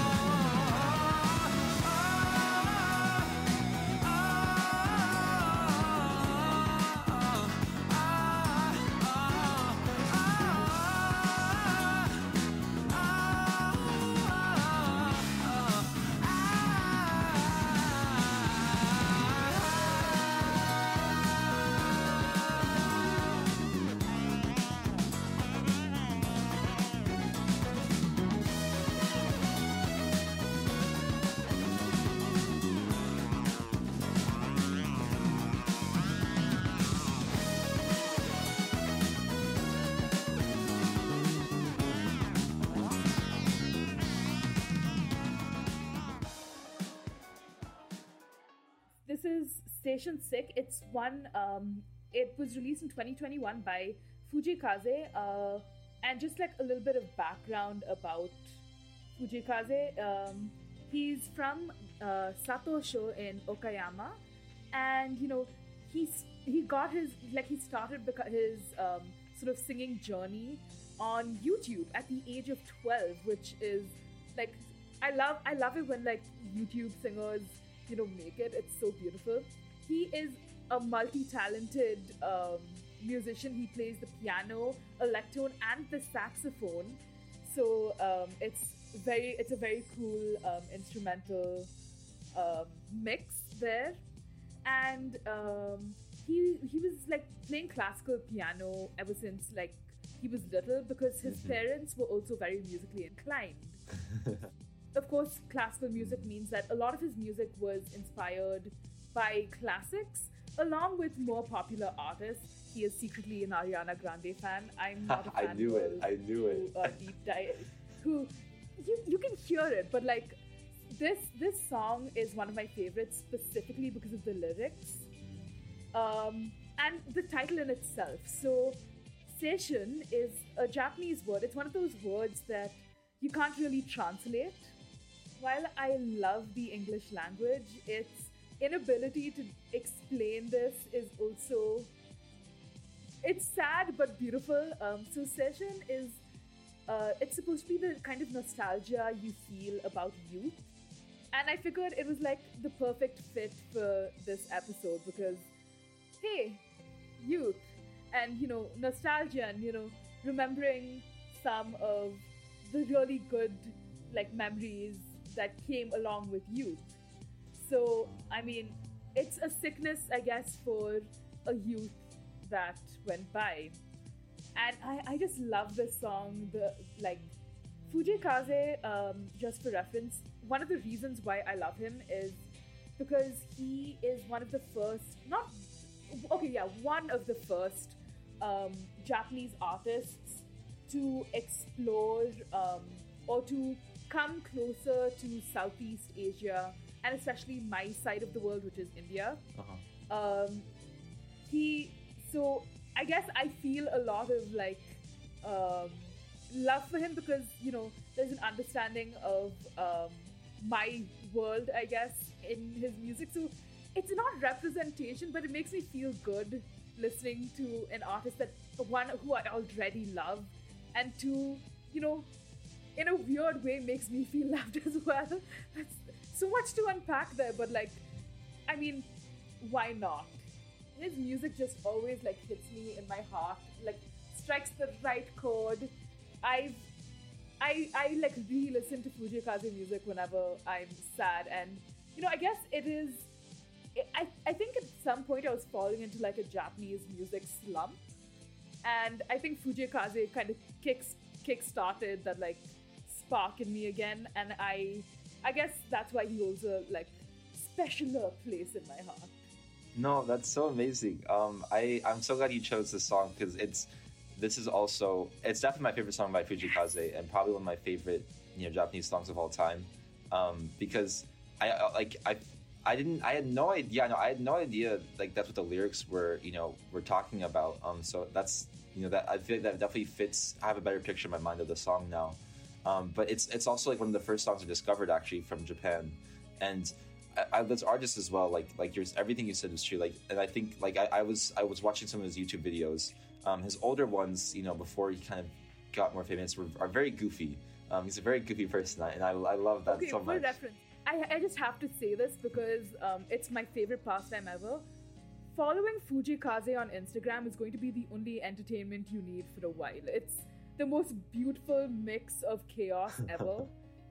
This is Station Sick. It's one, um, it was released in twenty twenty-one by Fujikaze. Uh, and just like a little bit of background about Fujikaze, um, he's from uh, Satosho in Okayama. And, you know, he's, he got his, like, he started beca- his um, sort of singing journey on YouTube at the age of twelve, which is, like, I love, I love it when, like, YouTube singers, you know, make it. It's so beautiful. He is a multi-talented um, musician. He plays the piano, electone, and the saxophone. So um, it's very, it's a very cool um, instrumental um, mix there. And um, he he was like playing classical piano ever since like he was little because his mm-hmm. parents were also very musically inclined. Of course, classical music means that a lot of his music was inspired by classics, along with more popular artists. He is secretly an Ariana Grande fan. I'm not a fan. I knew it. I knew it. Who, uh, deep dive. Who you you can hear it, but like this this song is one of my favorites specifically because of the lyrics, um, and the title in itself. So, seishun is a Japanese word. It's one of those words that you can't really translate. While I love the English language, its inability to explain this is also, it's sad but beautiful. Um, so seishun is, uh, it's supposed to be the kind of nostalgia you feel about youth. And I figured it was like the perfect fit for this episode because, hey, youth and, you know, nostalgia and, you know, remembering some of the really good, like, memories that came along with youth. So, I mean, it's a sickness, I guess, for a youth that went by. And I, I just love this song. The like, Fujii Kaze, um, just for reference, one of the reasons why I love him is because he is one of the first, not, okay, yeah, one of the first um, Japanese artists to explore um, or to come closer to Southeast Asia, and especially my side of the world, which is India. Uh-huh. Um, he, so I guess I feel a lot of like um, love for him because, you know, there's an understanding of um, my world, I guess, in his music. So it's not representation, but it makes me feel good listening to an artist that, one, who I already love, and two, you know, in a weird way makes me feel loved as well. That's so much to unpack there, but like, I mean, why not? His music just always like hits me in my heart, like strikes the right chord. I've, I, I like re-listen to Fujii Kaze music whenever I'm sad, and you know, I guess it is, I, I think at some point I was falling into like a Japanese music slump, and I think Fujii Kaze kind of kicks, kick-started that like spark in me again, and I I guess that's why he holds a like specialer place in my heart. No, that's so amazing. Um, I I'm so glad you chose this song because it's this is also it's definitely my favorite song by Fujii Kaze and probably one of my favorite you know Japanese songs of all time. Um, because I like I I didn't I had no idea no I had no idea like that's what the lyrics were you know were talking about. Um, so that's you know that I feel like that definitely fits. I have a better picture in my mind of the song now. Um, but it's it's also like one of the first songs I discovered actually from Japan, and I, I, there's artists as well. Like like yours, everything you said was true. Like, and I think like I, I was I was watching some of his YouTube videos. Um, his older ones, you know, before he kind of got more famous, were are very goofy. Um, he's a very goofy person, and I I love that okay, so much. For reference, I I just have to say this because um, it's my favorite pastime ever. Following Fujii Kaze on Instagram is going to be the only entertainment you need for a while. It's the most beautiful mix of chaos ever.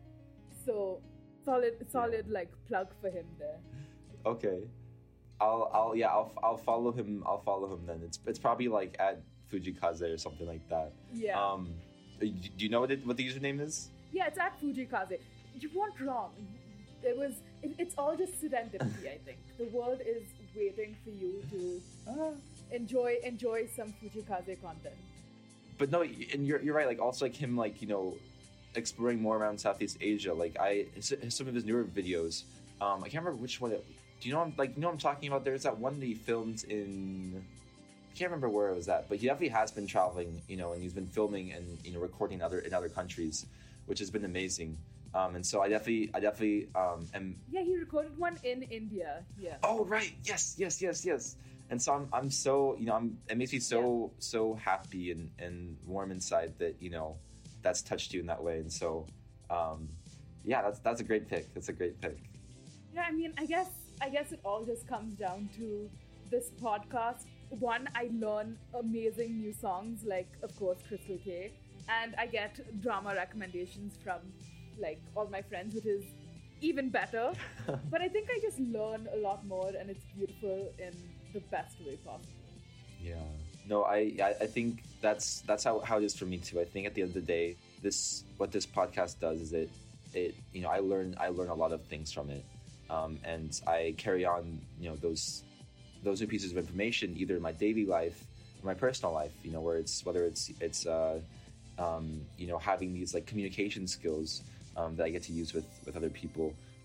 So solid, solid yeah. like plug for him there. Okay, I'll, I'll, yeah, I'll, I'll follow him. I'll follow him then. It's, it's probably like at Fujii Kaze or something like that. Yeah. Um, do you know what it, what the username is? Yeah, it's at Fujii Kaze. You weren't wrong. It was. It, it's all just serendipity. I think the world is waiting for you to uh, enjoy enjoy some Fujii Kaze content. But no, and you're you're right. Like also like him, like you know, exploring more around Southeast Asia. Like I, some of his newer videos. Um, I can't remember which one. It, do you know? I'm, like you know what I'm talking about? There's that one that he filmed in. I can't remember where it was at, but he definitely has been traveling. You know, and he's been filming and you know recording other in other countries, which has been amazing. Um, and so I definitely, I definitely um, am. Yeah, he recorded one in India. Yeah. Oh right, yes, yes, yes, yes. And so I'm, I'm so, you know, I'm, it makes me so, yeah. so happy and, and warm inside that, you know, that's touched you in that way. And so, um, yeah, that's, that's a great pick. That's a great pick. Yeah. I mean, I guess, I guess it all just comes down to this podcast. One, I learn amazing new songs, like, of course, Crystal K. And I get drama recommendations from, like, all my friends, which is even better. But I think I just learn a lot more, and it's beautiful in the best way possible. Yeah. No, I I think that's that's how, how it is for me too. I think at the end of the day, this what this podcast does is it it you know I learn I learn a lot of things from it, um, and I carry on you know those those are pieces of information either in my daily life or my personal life. You know where it's whether it's it's uh, um, you know having these like communication skills um, that I get to use with with other people,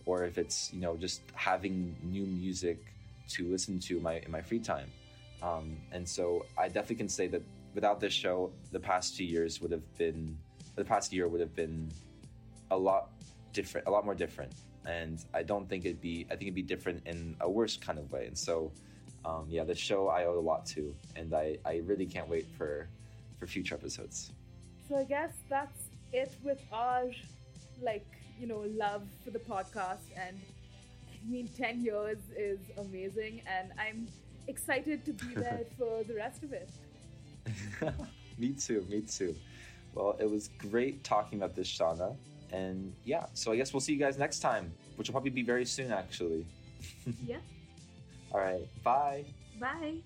or if it's, you know, just having new music to listen to my in my free time. Um, and so I definitely can say that without this show, the past two years would have been, the past year would have been a lot different, a lot more different. And I don't think it'd be, I think it'd be different in a worse kind of way. And so, um, yeah, the show I owe a lot to, and I, I really can't wait for, for future episodes. So I guess that's it with our, like, you know, love for the podcast. And I mean, ten years is amazing, and I'm excited to be there for the rest of it. Me too, me too. Well, it was great talking about this, Shauna. And yeah, so I guess we'll see you guys next time, which will probably be very soon, actually. Yeah. All right, bye. Bye.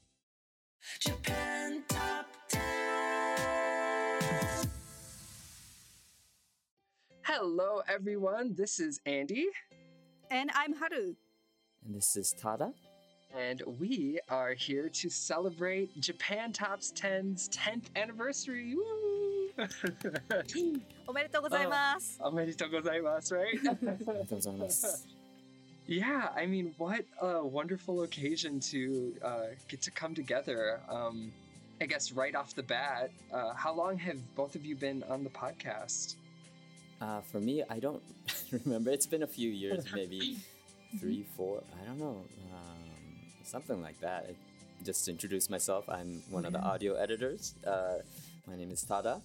Japan Top ten. Hello, everyone. This is Andy. And I'm Haru. And this is Tada. And we are here to celebrate Japan Top ten's tenth anniversary. Woo! おめでとうございます。 おめでとうございます, right? おめでとうございます。 Yeah, I mean, what a wonderful occasion to uh, get to come together. Um, I guess right off the bat, uh, how long have both of you been on the podcast? Uh, for me, I don't remember. It's been a few years, maybe three, four. I don't know. Um, something like that. I, just to introduce myself, I'm one of the audio editors. Uh, my name is Tada,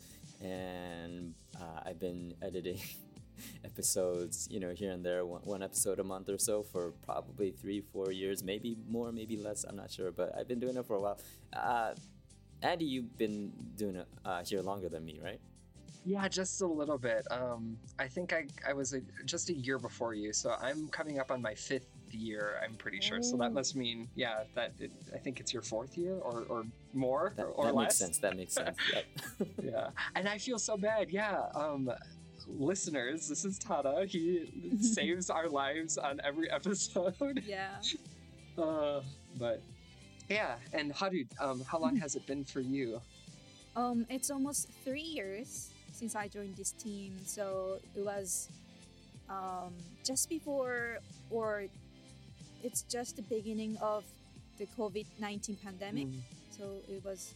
and uh, I've been editing episodes, you know, here and there, one, one episode a month or so for probably three, four years, maybe more, maybe less. I'm not sure, but I've been doing it for a while. Uh, Andy, you've been doing it uh, here longer than me, right? Yeah, just a little bit. Um, I think I, I was a, just a year before you, so I'm coming up on my fifth year, I'm pretty sure. So that must mean, yeah, that it, I think it's your fourth year or, or more that, or that less. Makes sense. That makes sense. Yep. Yeah, and I feel so bad. Yeah, um, listeners, this is Tada. He saves our lives on every episode. Yeah. Uh, but yeah, and Haru, um, how long has it been for you? Um, it's almost three years since I joined this team. So it was um, just before, or it's just the beginning of the COVID nineteen pandemic. Mm. So it was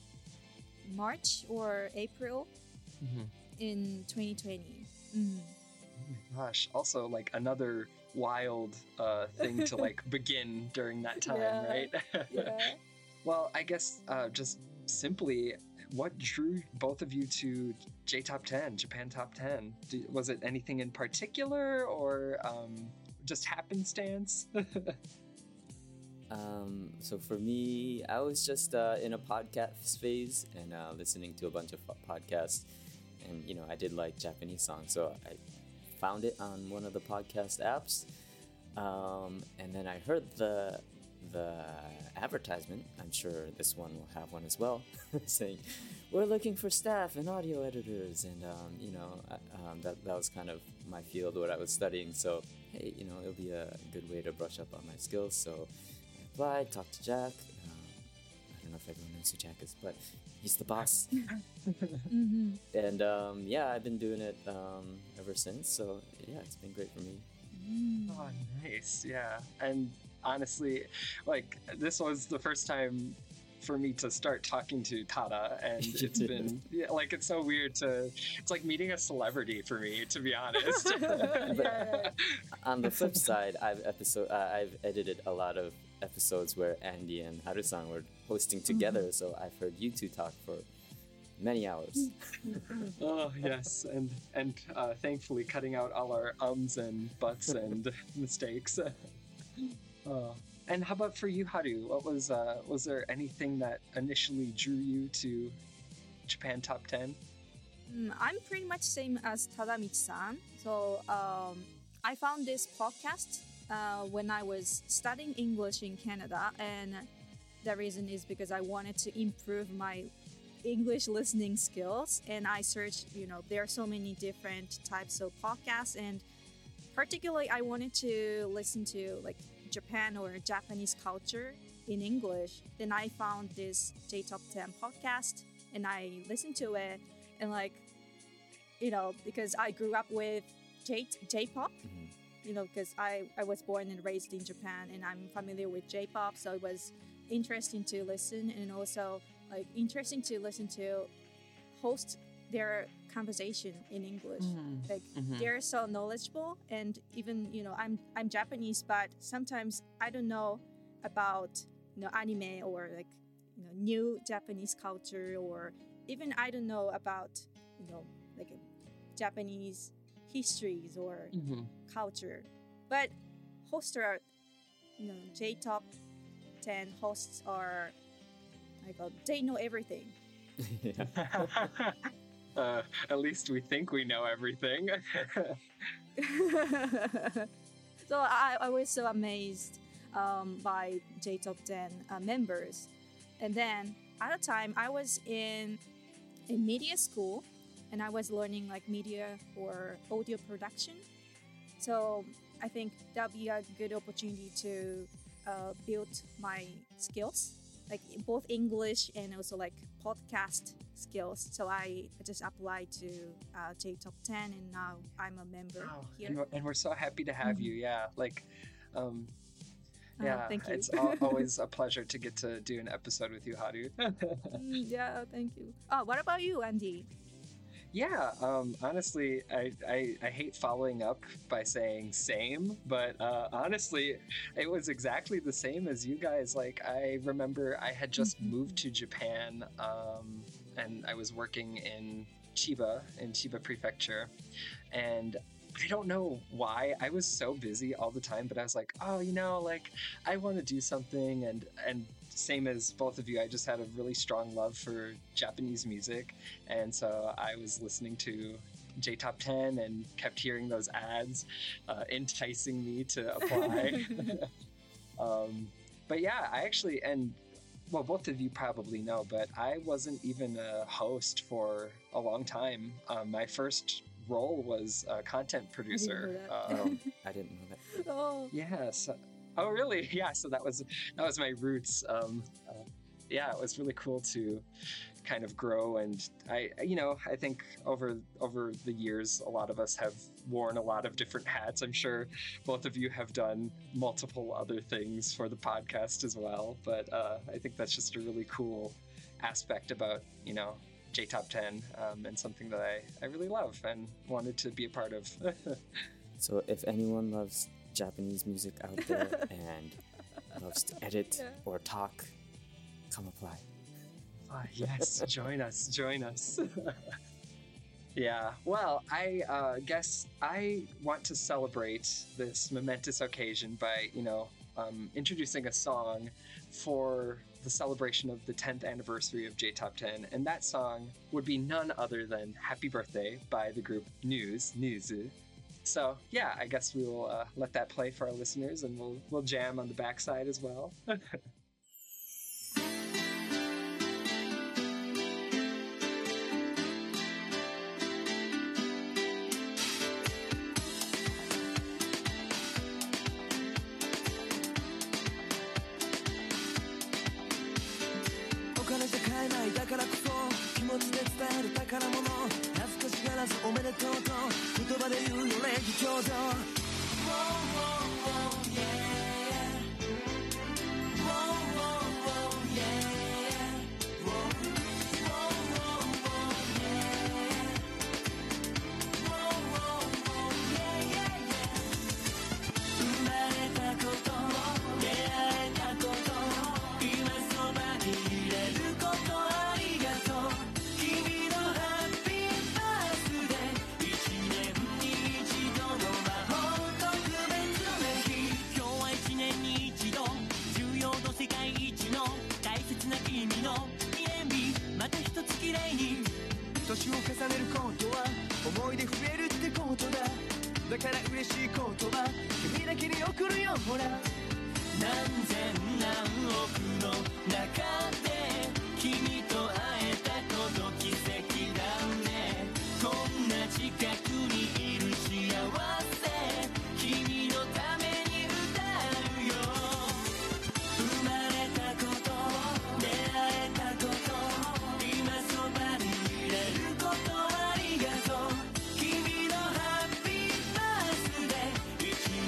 March or April mm-hmm. in twenty twenty. Mm. Oh my gosh. Also, like another wild uh, thing to like begin during that time, yeah. right? Yeah. Well, I guess uh, just simply, what drew both of you to J Top ten, Japan Top ten? Did, was it anything in particular, or um, just happenstance? um, so for me, I was just uh, in a podcast phase and uh, listening to a bunch of podcasts, and you know, I did like Japanese songs, so I found it on one of the podcast apps, um, and then I heard the the advertisement. I'm sure this one will have one as well, saying we're looking for staff and audio editors, and um, you know, um, that that was kind of my field, what I was studying. So hey, you know, it'll be a good way to brush up on my skills. So I applied, talked to Jack. Um, I don't know if everyone knows who Jack is, but he's the boss. mm-hmm. And um, yeah, I've been doing it um, ever since. So yeah, it's been great for me. Mm. Oh, nice. Yeah, and honestly, like, this was the first time for me to start talking to Tada, and it's been yeah, like, it's so weird to, it's like meeting a celebrity for me, to be honest. But on the flip side, I've episode uh, I've edited a lot of episodes where Andy and Haru-san were hosting together, mm-hmm. so I've heard you two talk for many hours. Oh yes, and and uh, thankfully cutting out all our ums and buts and mistakes. Uh, and how about for you, Haru? What was uh, was there anything that initially drew you to Japan Top ten? Mm, I'm pretty much same as Tadamichi-san. So um, I found this podcast uh, when I was studying English in Canada, and the reason is because I wanted to improve my English listening skills, and I searched, you know, there are so many different types of podcasts, and particularly I wanted to listen to like Japan or Japanese culture in English. Then I found this J Top ten podcast and I listened to it, and like, you know, because I grew up with J J-pop, mm-hmm. you know, because I, I was born and raised in Japan and I'm familiar with J-pop, so it was interesting to listen, and also like interesting to listen to host their conversation in English. Mm. Like Mhm. they're so knowledgeable, and even, you know, I'm I'm Japanese, but sometimes I don't know about, you know, anime or like, you know, new Japanese culture, or even I don't know about, you know, like Japanese histories or Mhm. culture. But hosts are, you know, J-Top ten hosts are like, uh, they know everything. uh, at least we think we know everything. So I, I was so amazed um, by J-Top ten uh, members. And then at the time I was in a media school and I was learning like media or audio production. So I think that'd be a good opportunity to uh, build my skills, like both English and also like podcast skills. So I just applied to uh, J-Top ten and now I'm a member Oh, here. and, we're, and we're so happy to have Mhm. you. Yeah, like, um, Oh, yeah, thank you. it's al- always a pleasure to get to do an episode with you, Haru. Mm, yeah, thank you. Oh, what about you, Andy? Yeah, um, honestly, I, I, I hate following up by saying same, but uh, honestly, it was exactly the same as you guys. Like, I remember I had just moved to Japan, um, and I was working in Chiba, in Chiba Prefecture, and I don't know why I was so busy all the time, but I was like, oh, you know, like I want to do something, and and same as both of you, I just had a really strong love for Japanese music, and so I was listening to J-Top ten and kept hearing those ads, uh, enticing me to apply. um, but yeah, I actually, and well, both of you probably know, but I wasn't even a host for a long time. Um, my first role was a content producer. that. Oh, Um, I didn't know that. Oh, yeah. So, oh, really? Yeah. So that was that was my roots. Um, uh, yeah, it was really cool to kind of grow, and I, you know, I think over over the years, a lot of us have worn a lot of different hats. I'm sure both of you have done multiple other things for the podcast as well. But uh, I think that's just a really cool aspect about, you know, J-Top ten, um, and something that I, I really love and wanted to be a part of. So if anyone loves Japanese music out there and loves to edit Yeah. or talk, come apply. Ah, yes, join us, join us. Yeah, well, I uh, guess I want to celebrate this momentous occasion by, you know, um, introducing a song for the celebration of the tenth anniversary of J-Top ten, and that song would be none other than Happy Birthday by the group News, News. So, yeah, I guess we will uh, let that play for our listeners, and we'll, we'll jam on the backside as well. お金じゃ買えないだからこそ気持ちで伝える宝物恥ずかしがらずおめでとうと言葉で言うよ礼儀強度 Whoa, whoa, whoa, yeah. Whoa, whoa, whoa, yeah. Whoa, whoa, whoa, whoa, yeah. Whoa, whoa, whoa, yeah, yeah, yeah. 生まれたこと出会えたこと今そばにいれることありがとう君のハッピーバースデー一年に一度の魔法特別な日今日は一年に一度重要度世界一の大切な君の記念日また一つ綺麗に年を重ねることは思い出増えるってことだだから嬉しい言葉君だけに送るよほら何千何億の中で君と会えたこと奇跡だねこんな近くにいる幸せ君のために歌うよ生まれたこと出会えたこと今そばにいれることありがとう君のハッピーバースデー一年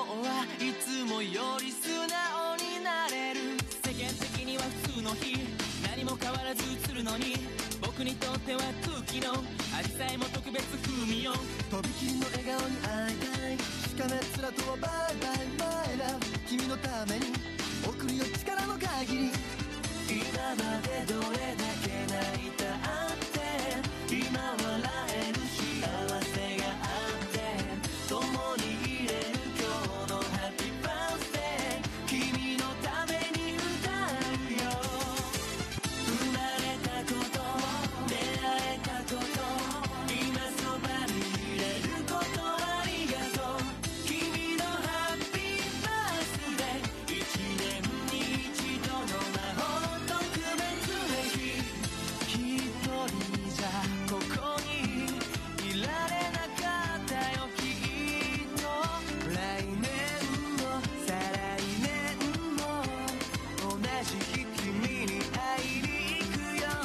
はいつもより素直になれる世間的には普通の日何も変わらず映るのに僕にとっては空気のアジサイも特別風味よとびきりの笑顔に会いたいしかめっ面とはバイバイマイラブ君のために送るよ力の限り今までどれだけ泣いたって今笑える幸せがあって共にいれる今日のハッピーバースデー君のために歌うよ生まれたこと出会えたこと今そばにいれることありがとう君のハッピーバースデー一年に一度の魔法特別な日一人じゃここにいられなかったよきっと来年も再来年も同じ日君に会いに行くよ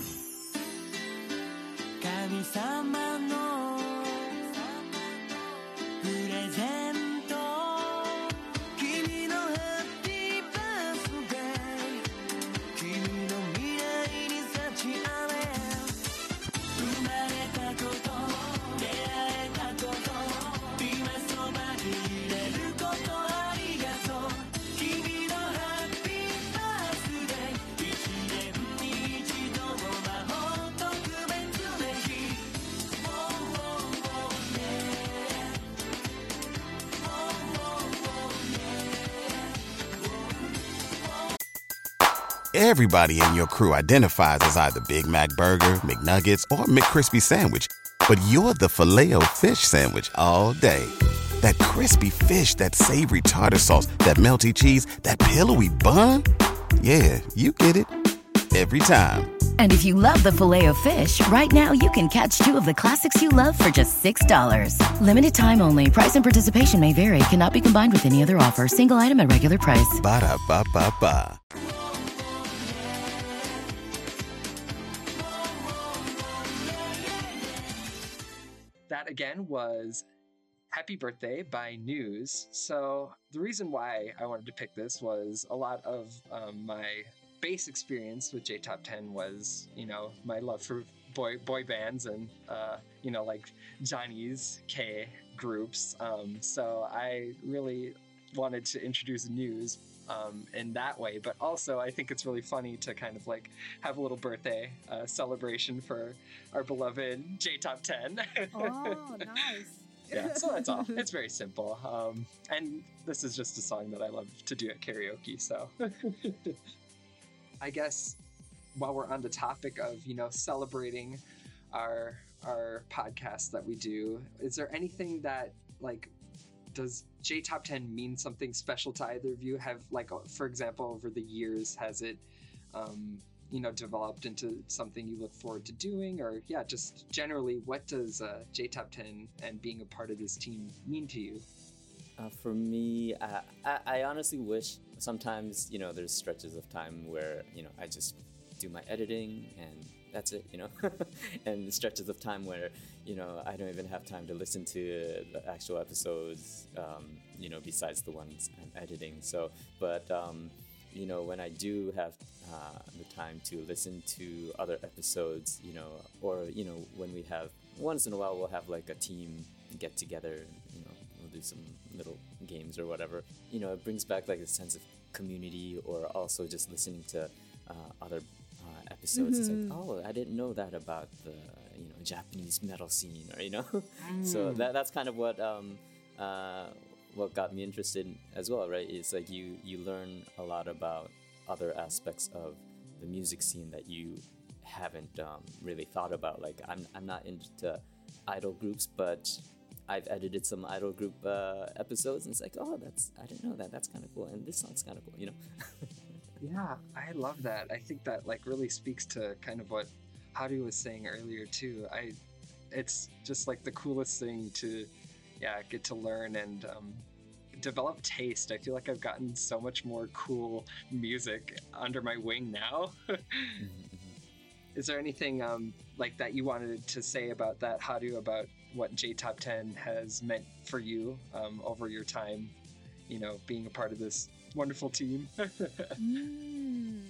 神様のプレゼント君のハッピーバースデー君の未来に幸あれ生まれたこと出会えたこと今そばにいれることありがとう君のハッピーバースデー一年に一度の魔法特別な日 Oh, oh, oh, yeah. Oh, oh, oh, yeah. Everybody in your crew identifies as either Big Mac Burger, McNuggets, or McCrispy Sandwich. But you're the Filet-O-Fish Sandwich all day. That crispy fish, that savory tartar sauce, that melty cheese, that pillowy bun. Yeah, you get it. Every time. And if you love the Filet-O-Fish, right now you can catch two of the classics you love for just six dollars. Limited time only. Price and participation may vary. Cannot be combined with any other offer. Single item at regular price. Ba-da-ba-ba-ba. That again was Happy Birthday by News. So the reason why I wanted to pick this was a lot of um, my base experience with J Top ten was, you know, my love for boy boy bands and, uh, you know, like Johnny's K groups. Um, so I really wanted to introduce News um, in that way. But also I think it's really funny to kind of like have a little birthday uh, celebration for our beloved J Top ten. Oh, nice. Yeah, so that's all. It's very simple. Um, and this is just a song that I love to do at karaoke, so. I guess while we're on the topic of, you know, celebrating our our podcast that we do, is there anything that, like, does J Top ten mean something special to either of you? Have, like, for example, over the years, has it, um, you know, developed into something you look forward to doing? Or, yeah, just generally, what does uh, J Top ten and being a part of this team mean to you? Uh, for me, uh, I, I honestly wish sometimes, you know, there's stretches of time where, you know, I just do my editing and that's it, you know, and stretches of time where, you know, I don't even have time to listen to the actual episodes, um, you know, besides the ones I'm editing. So, but, um, you know, when I do have uh, the time to listen to other episodes, you know, or, you know, when we have, once in a while, we'll have like a team get together, you know, we'll do some little games or whatever, you know, it brings back like a sense of community, or also just listening to uh, other uh, episodes. Mm-hmm. It's like, oh, I didn't know that about the, you know, Japanese metal scene, or, you know, mm. so that that's kind of what um, uh, what got me interested as well, right? It's like you you learn a lot about other aspects of the music scene that you haven't um, really thought about. Like I'm I'm not into idol groups, but I've edited some idol group uh, episodes, and it's like, oh, that's I didn't know that. That's kind of cool, and this song's kind of cool, you know. Yeah, I love that. I think that like really speaks to kind of what Haru was saying earlier too. I, it's just like the coolest thing to, yeah, get to learn and um, develop taste. I feel like I've gotten so much more cool music under my wing now. Is there anything um, like that you wanted to say about that, Haru, about what J Top ten has meant for you um, over your time you know, being a part of this wonderful team. mm.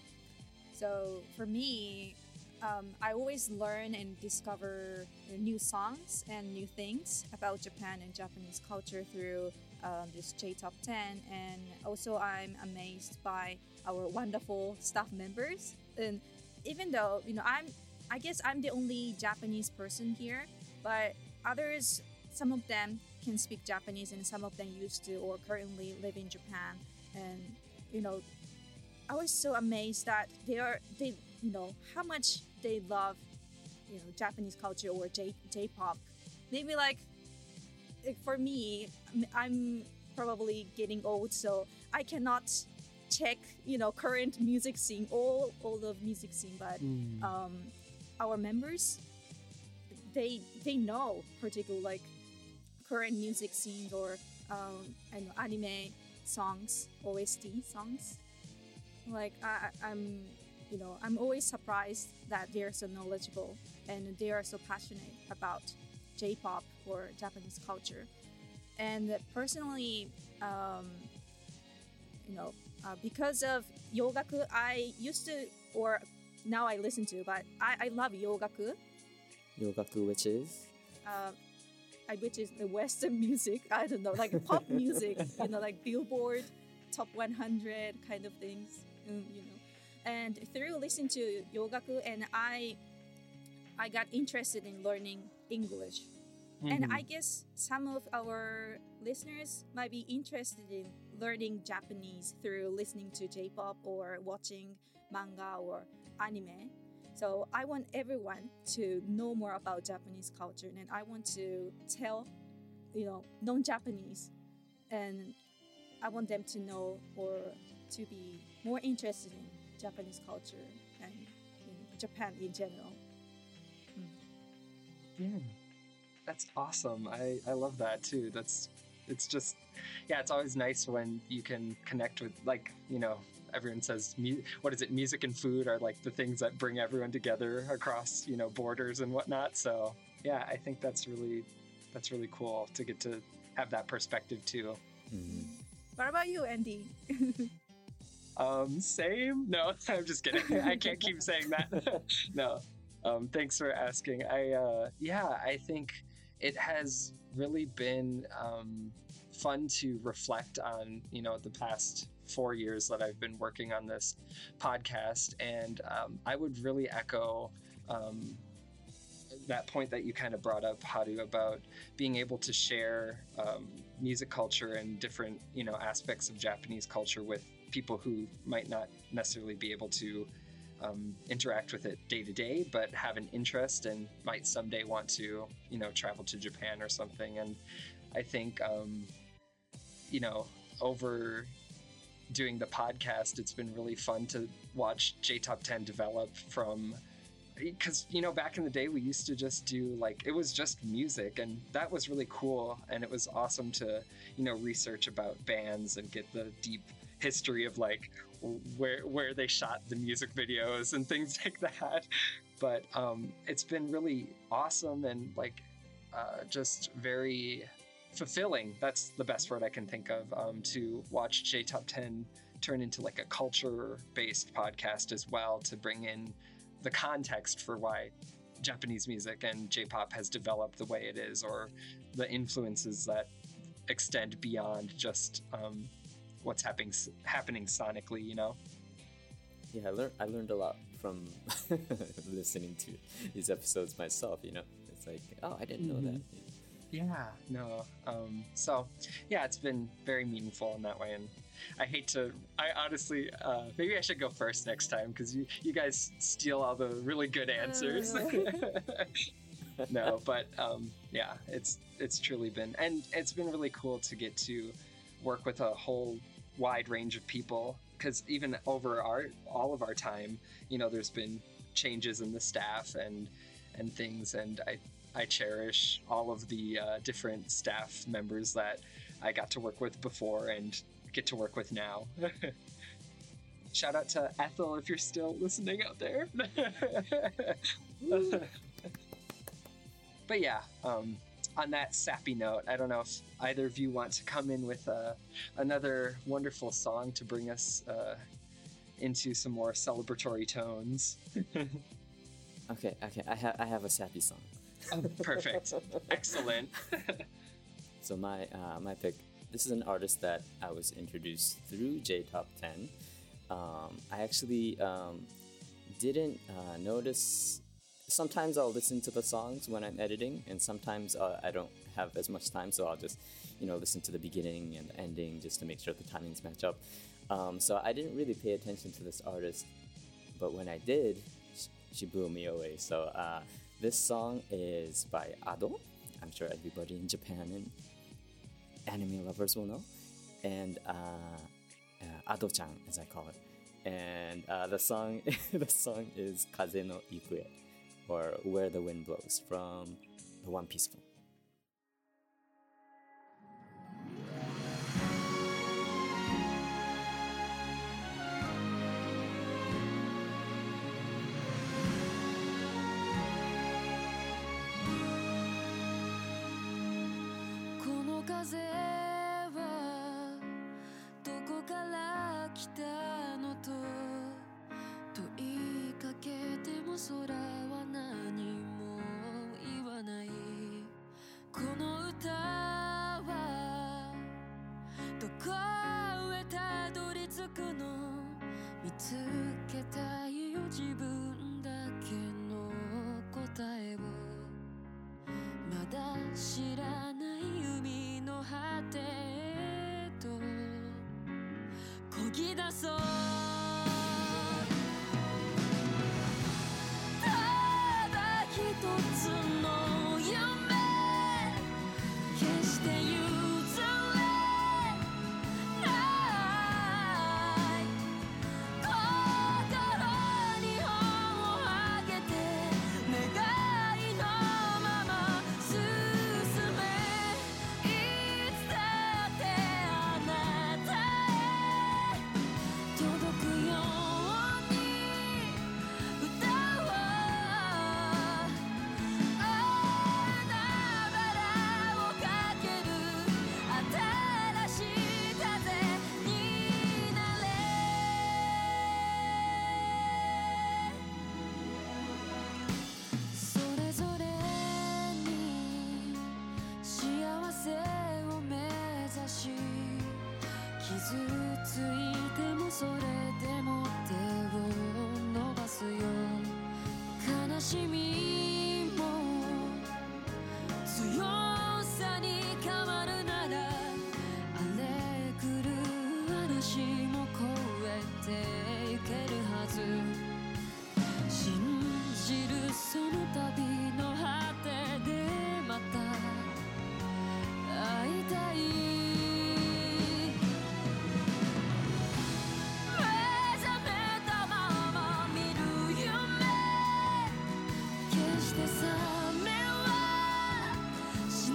So for me, um, I always learn and discover new songs and new things about Japan and Japanese culture through um, this J Top ten. And also I'm amazed by our wonderful staff members. And even though, you know, I'm, I guess I'm the only Japanese person here, but others, some of them can speak Japanese and some of them used to or currently live in Japan. And, you know, I was so amazed that they are, they, you know, how much they love, you know, Japanese culture or J, J-pop. Maybe like, like, for me, I'm probably getting old, so I cannot check, you know, current music scene, all, all the music scene, but Mm. um, our members, they, they know particular like current music scenes or um, I know, anime songs, O S T songs. Like I, I'm, you know, I'm always surprised that they're so knowledgeable and they are so passionate about J-pop or Japanese culture. And personally, um, you know, uh, because of Yogaku, I used to, or now I listen to, but I, I love Yogaku. Yogaku, which is? Uh, I, which is the Western music. I don't know, like pop music, you know, like Billboard Top one hundred kind of things, mm, you know. And through listening to Yogaku, and I, I got interested in learning English. Mm-hmm. And I guess some of our listeners might be interested in learning Japanese through listening to J-pop or watching manga or anime. So I want everyone to know more about Japanese culture, and I want to tell, you know, non-Japanese, and I want them to know or to be more interested in Japanese culture and in Japan in general. Yeah, that's awesome. I, I love that too. That's, it's just, yeah, it's always nice when you can connect with, like, you know, everyone says, mu- what is it, music and food are like the things that bring everyone together across, you know, borders and whatnot. So yeah, I think that's really, that's really cool to get to have that perspective too. Mm-hmm. What about you, Andy? Um, same? No, I'm just kidding. I can't keep saying that. No. Um, thanks for asking. I, uh, yeah, I think it has really been, um, fun to reflect on, you know, the past four years that I've been working on this podcast. And, um, I would really echo, um, that point that you kind of brought up, Haru, about being able to share, um, music culture and different, you know, aspects of Japanese culture with people who might not necessarily be able to um, interact with it day to day, but have an interest and might someday want to, you know, travel to Japan or something. And I think, um, you know, over doing the podcast, it's been really fun to watch J Top ten develop from, because, you know, back in the day, we used to just do like, it was just music, and that was really cool. And it was awesome to, you know, research about bands and get the deep history of like where where they shot the music videos and things like that. But um, it's been really awesome and like uh, just very fulfilling. That's the best word I can think of, um, to watch J Top ten turn into like a culture-based podcast as well, to bring in the context for why Japanese music and J-pop has developed the way it is, or the influences that extend beyond just um, what's happening happening sonically, you know? Yeah, I learned I learned a lot from listening to these episodes myself, you know? It's like, oh, I didn't know Mhm. that. Yeah, no. Um, so, yeah, it's been very meaningful in that way. And I hate to, I honestly, uh, maybe I should go first next time, because you, you guys steal all the really good answers. No, but um, yeah, it's it's truly been, and it's been really cool to get to work with a whole wide range of people, because even over our all of our time, you know, there's been changes in the staff and and things, and I I cherish all of the uh, different staff members that I got to work with before and get to work with now. Shout out to Ethel if you're still listening out there. But yeah, um, on that sappy note, I don't know if either of you want to come in with uh, another wonderful song to bring us uh, into some more celebratory tones. Okay, okay, I have I have a sappy song. Oh, perfect, excellent. So my uh, my pick. This is an artist that I was introduced through J Top ten. Um, I actually um, didn't uh, notice. Sometimes I'll listen to the songs when I'm editing, and sometimes uh, I don't have as much time, so I'll just, you know, listen to the beginning and the ending just to make sure the timings match up. Um, so I didn't really pay attention to this artist, but when I did, sh- she blew me away. So uh, this song is by Ado. I'm sure everybody in Japan and anime lovers will know, and uh, uh, Ado-chan, as I call it. And uh, the song, the song is Kaze no Ikue, or Where the Wind Blows, from the One Piece film. 風はどこから来たのと問いかけても空は何も言わないこの歌はどこへたどり着くの見つけたいよ自分だけの答えをまだ知らない海の果てへと漕ぎ出そうただ一つの夢決して譲れない心に本を上げて願いのまま進めいつだってあなたへ届くように歌おう花々をかける新しい風になれそれぞれに幸せを目指し傷ついてもそれでも手を伸ばすよ悲しみも強さに変わるなら荒れ狂う嵐も越えていけるはず信じるその旅の果てでまた会いたい目覚めたまま見る夢決して覚めはし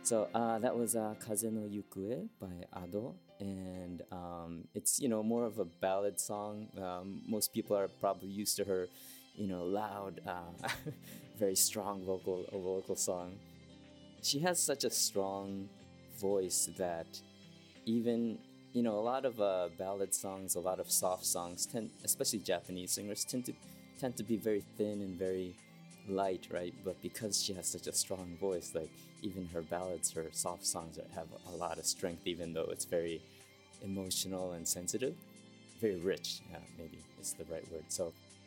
So uh, that was uh, Kaze no Yukue by Ado, and um, it's you know more of a ballad song. Um, most people are probably used to her, you know, loud, uh, very strong vocal vocal song. She has such a strong voice that even you know a lot of uh, ballad songs, a lot of soft songs, tend, especially Japanese singers, tend to tend to be very thin and very light, right? But because she has such a strong voice, like even her ballads, her soft songs have a lot of strength, even though it's very emotional and sensitive, very rich. Yeah, maybe is the right word. So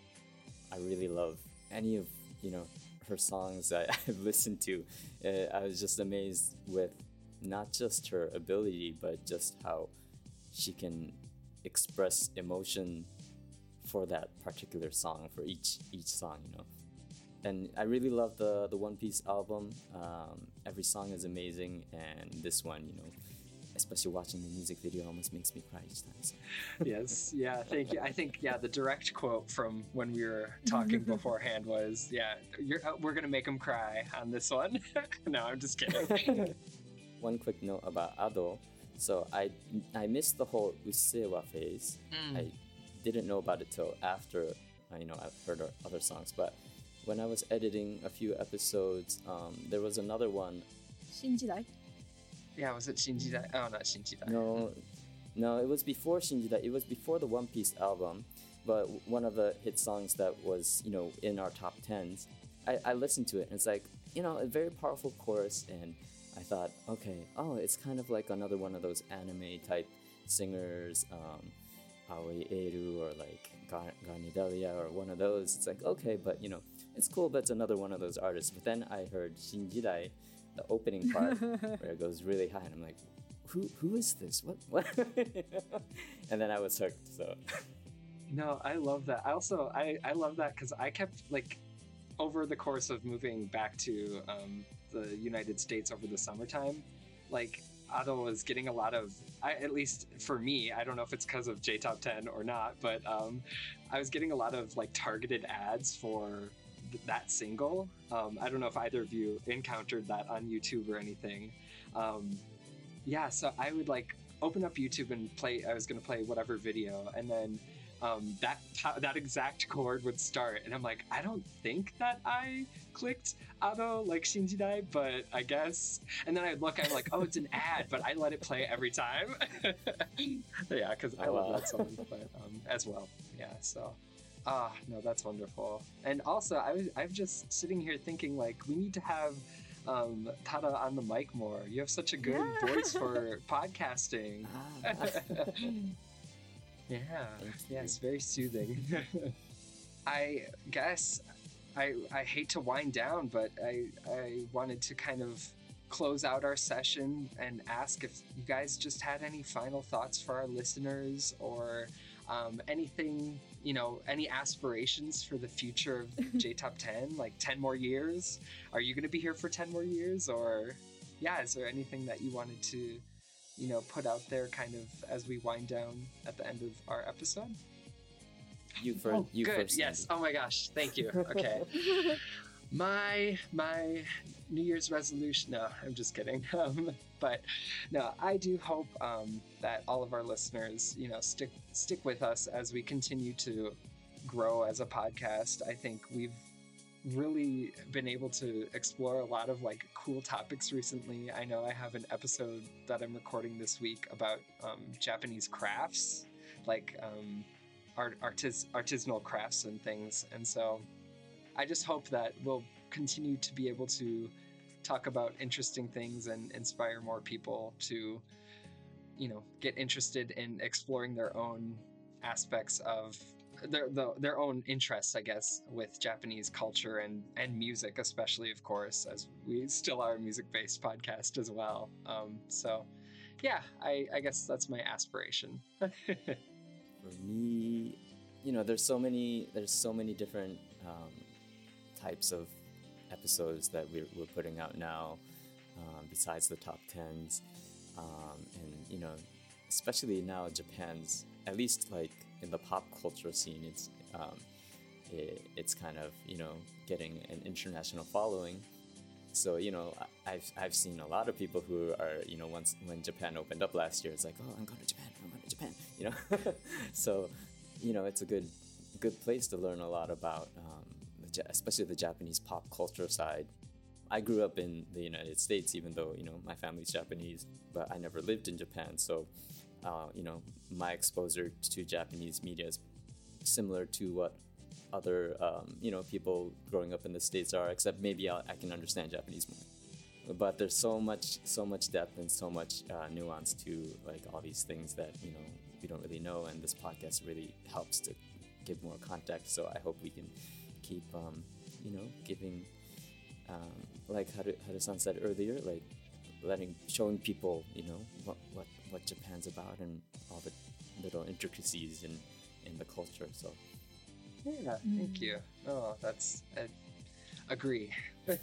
I really love any of you know her songs that I've listened to. Uh, I was just amazed with not just her ability, but just how she can express emotion for that particular song, for each each song, you know. And I really love the the One Piece album. Um, every song is amazing, and this one, you know, especially watching the music video, almost makes me cry each time. So. Yes, yeah, thank you. I think yeah, the direct quote from when we were talking beforehand was, "Yeah, you're, uh, we're gonna make him cry on this one." No, I'm just kidding. One quick note about Ado. So I I missed the whole Usewa phase. Mm. I didn't know about it till after uh, you know I've heard her other songs, but when I was editing a few episodes, um, there was another one. Shinjidai? Yeah, was it Shinjidai? Oh, not Shinjidai. No, no, it was before Shinjidai. It was before the One Piece album, but one of the hit songs that was, you know, in our top tens. I, I listened to it, and it's like, you know, a very powerful chorus, and I thought, okay, oh, it's kind of like another one of those anime type singers, um, Aoi Eru or like Gar- Garnidelia or one of those. It's like, okay, but you know, it's cool, but it's another one of those artists. But then I heard Shinjidai, the opening part, where it goes really high, and I'm like, who who is this? What what? And then I was hooked. So. No, I love that. I also I I love that because I kept like, over the course of moving back to um, the United States over the summertime, like Ado was getting a lot of, I, at least for me, I don't know if it's because of J Top ten or not, but um, I was getting a lot of like targeted ads for th- that single. Um, I don't know if either of you encountered that on YouTube or anything. Um, yeah, so I would like open up YouTube and play, I was going to play whatever video, and then um, that that exact chord would start, and I'm like, I don't think that I clicked Ado like Shinjidai, but I guess. And then I'd look, I'm like, oh, it's an ad, but I let it play every time. Yeah, because I Oh, love wow. that song, but um, as well. Yeah, so ah, no, that's wonderful. And also, I was I'm just sitting here thinking like we need to have um, Tada on the mic more. You have such a good Yeah. voice for podcasting. Ah. Yeah, Thank yeah, you. it's very soothing. I guess I I hate to wind down, but I I wanted to kind of close out our session and ask if you guys just had any final thoughts for our listeners, or um, anything, you know, any aspirations for the future of J Top ten, like ten more years. Are you going to be here for ten more years, or yeah, is there anything that you wanted to, you know, put out there kind of as we wind down at the end of our episode? You first. Oh, you good. first. Yes. Oh my gosh. Thank you. Okay. my my New Year's resolution. No, I'm just kidding. Um, but no, I do hope um, that all of our listeners, you know, stick stick with us as we continue to grow as a podcast. I think we've really been able to explore a lot of like cool topics recently. I know I have an episode that I'm recording this week about um, Japanese crafts, like um, art, artis- artisanal crafts and things. And so I just hope that we'll continue to be able to talk about interesting things and inspire more people to, you know, get interested in exploring their own aspects of their the, their own interests, I guess, with Japanese culture and and music, especially, of course, as we still are a music-based podcast as well. Um, so, yeah, I, I guess that's my aspiration. For me, you know, there's so many there's so many different um, types of episodes that we're, we're putting out now, um, besides the top tens, um, and you know, especially now Japan's, at least like in the pop culture scene, it's um, it, it's kind of, you know, getting an international following. So you know, I- I've I've seen a lot of people who are, you know, once when Japan opened up last year, it's like, oh, I'm going to Japan, I'm going to Japan, you know. So, you know, it's a good good place to learn a lot about, um, the, Ja- especially the Japanese pop culture side. I grew up in the United States, even though, you know, my family's Japanese, but I never lived in Japan. So, uh, you know, my exposure to Japanese media is similar to what other, um, you know, people growing up in the States are, except maybe I'll, I can understand Japanese more. But there's so much, so much depth and so much uh, nuance to like all these things that, you know, we don't really know, and this podcast really helps to give more context. So I hope we can keep, um, you know, giving, um, like Haru, Haru-san said earlier, like letting, showing people, you know, what, what, what Japan's about and all the little intricacies in, in the culture. So. Yeah, thank you. Oh, that's I agree. uh,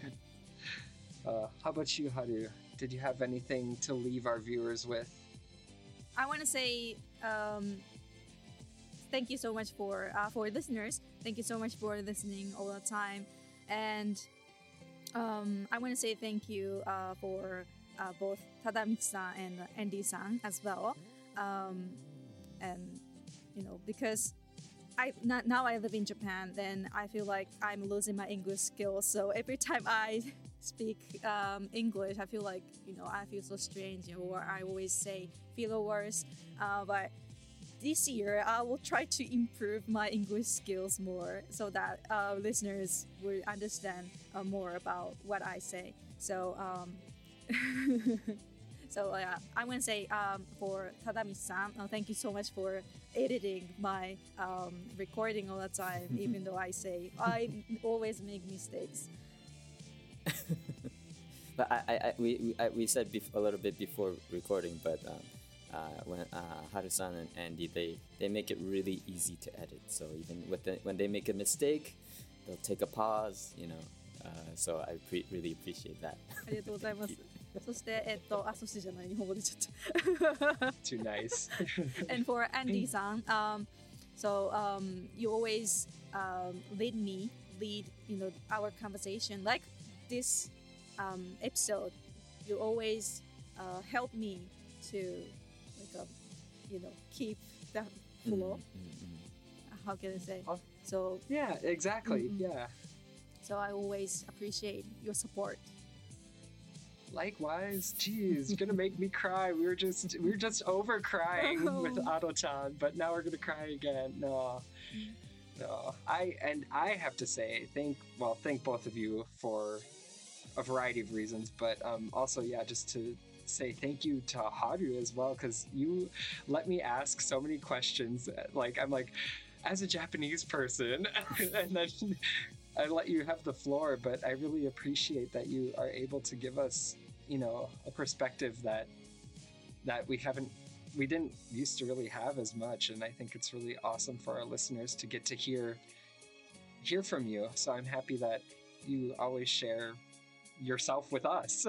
how about you, Haru? Did you have anything to leave our viewers with? I want to say um, thank you so much for uh, for listeners. Thank you so much for listening all the time, and um, I want to say thank you uh, for uh, both Tadamichi-san and Andy-san as well, um, and you know, because I not, now I live in Japan, then I feel like I'm losing my English skills. So every time I speak um, English, I feel like, you know, I feel so strange, or I always say filler words. Uh, but this year, I will try to improve my English skills more so that uh, listeners will understand uh, more about what I say. So, um, so uh, I want to say um, for Tadamichi-san, uh, thank you so much for editing my um, recording all the time, even though I say I always make mistakes. But I, I, I we we, I, we said bef- a little bit before recording, but um, uh, when uh, Haru-san and Andy, they, they make it really easy to edit. So even with the, when they make a mistake, they'll take a pause, you know. Uh, so I pre- really appreciate that. ありがとうございます。そして、えっと、あ、そしてじゃない、日本語出ちゃった。 Too nice. And for Andy-san, um, so um, you always um, lead me, lead, you know, our conversation. Like this um, episode, you always uh, help me to, like, um, you know, keep that flow. Mm-hmm. How can I say? Oh. So yeah, exactly. Mm-hmm. Yeah. So I always appreciate your support. Likewise, geez, you're gonna make me cry. We were just we were just over crying Oh. with Ado-chan, but now we're gonna cry again. No, no. I and I have to say, thank well, thank both of you for a variety of reasons, but um, also yeah, just to say thank you to Haru as well, because you let me ask so many questions. Like I'm like, as a Japanese person, and then I let you have the floor, but I really appreciate that you are able to give us, you know, a perspective that that we haven't, we didn't used to really have as much, and I think it's really awesome for our listeners to get to hear hear from you. So I'm happy that you always share yourself with us.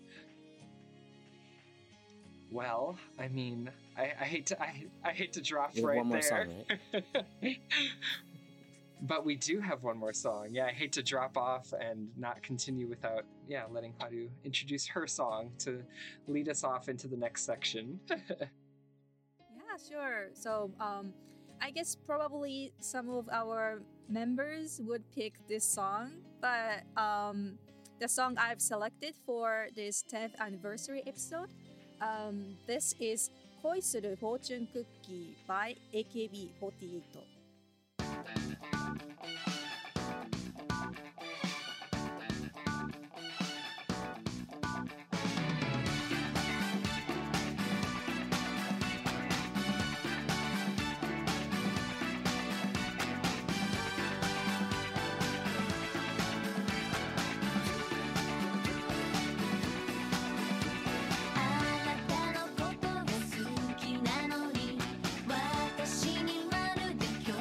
Well, I mean, I, I hate to I, I hate to drop You have right one more there. song, right? But we do have one more song. Yeah, I hate to drop off and not continue without, yeah, letting Haru introduce her song to lead us off into the next section. Yeah, sure. So, um, I guess probably some of our members would pick this song, but um, the song I've selected for this tenth anniversary episode, um, this is Koi Suru Fortune Cookie by A K B forty-eight. 「あなたのことが好きなのに私にまるで興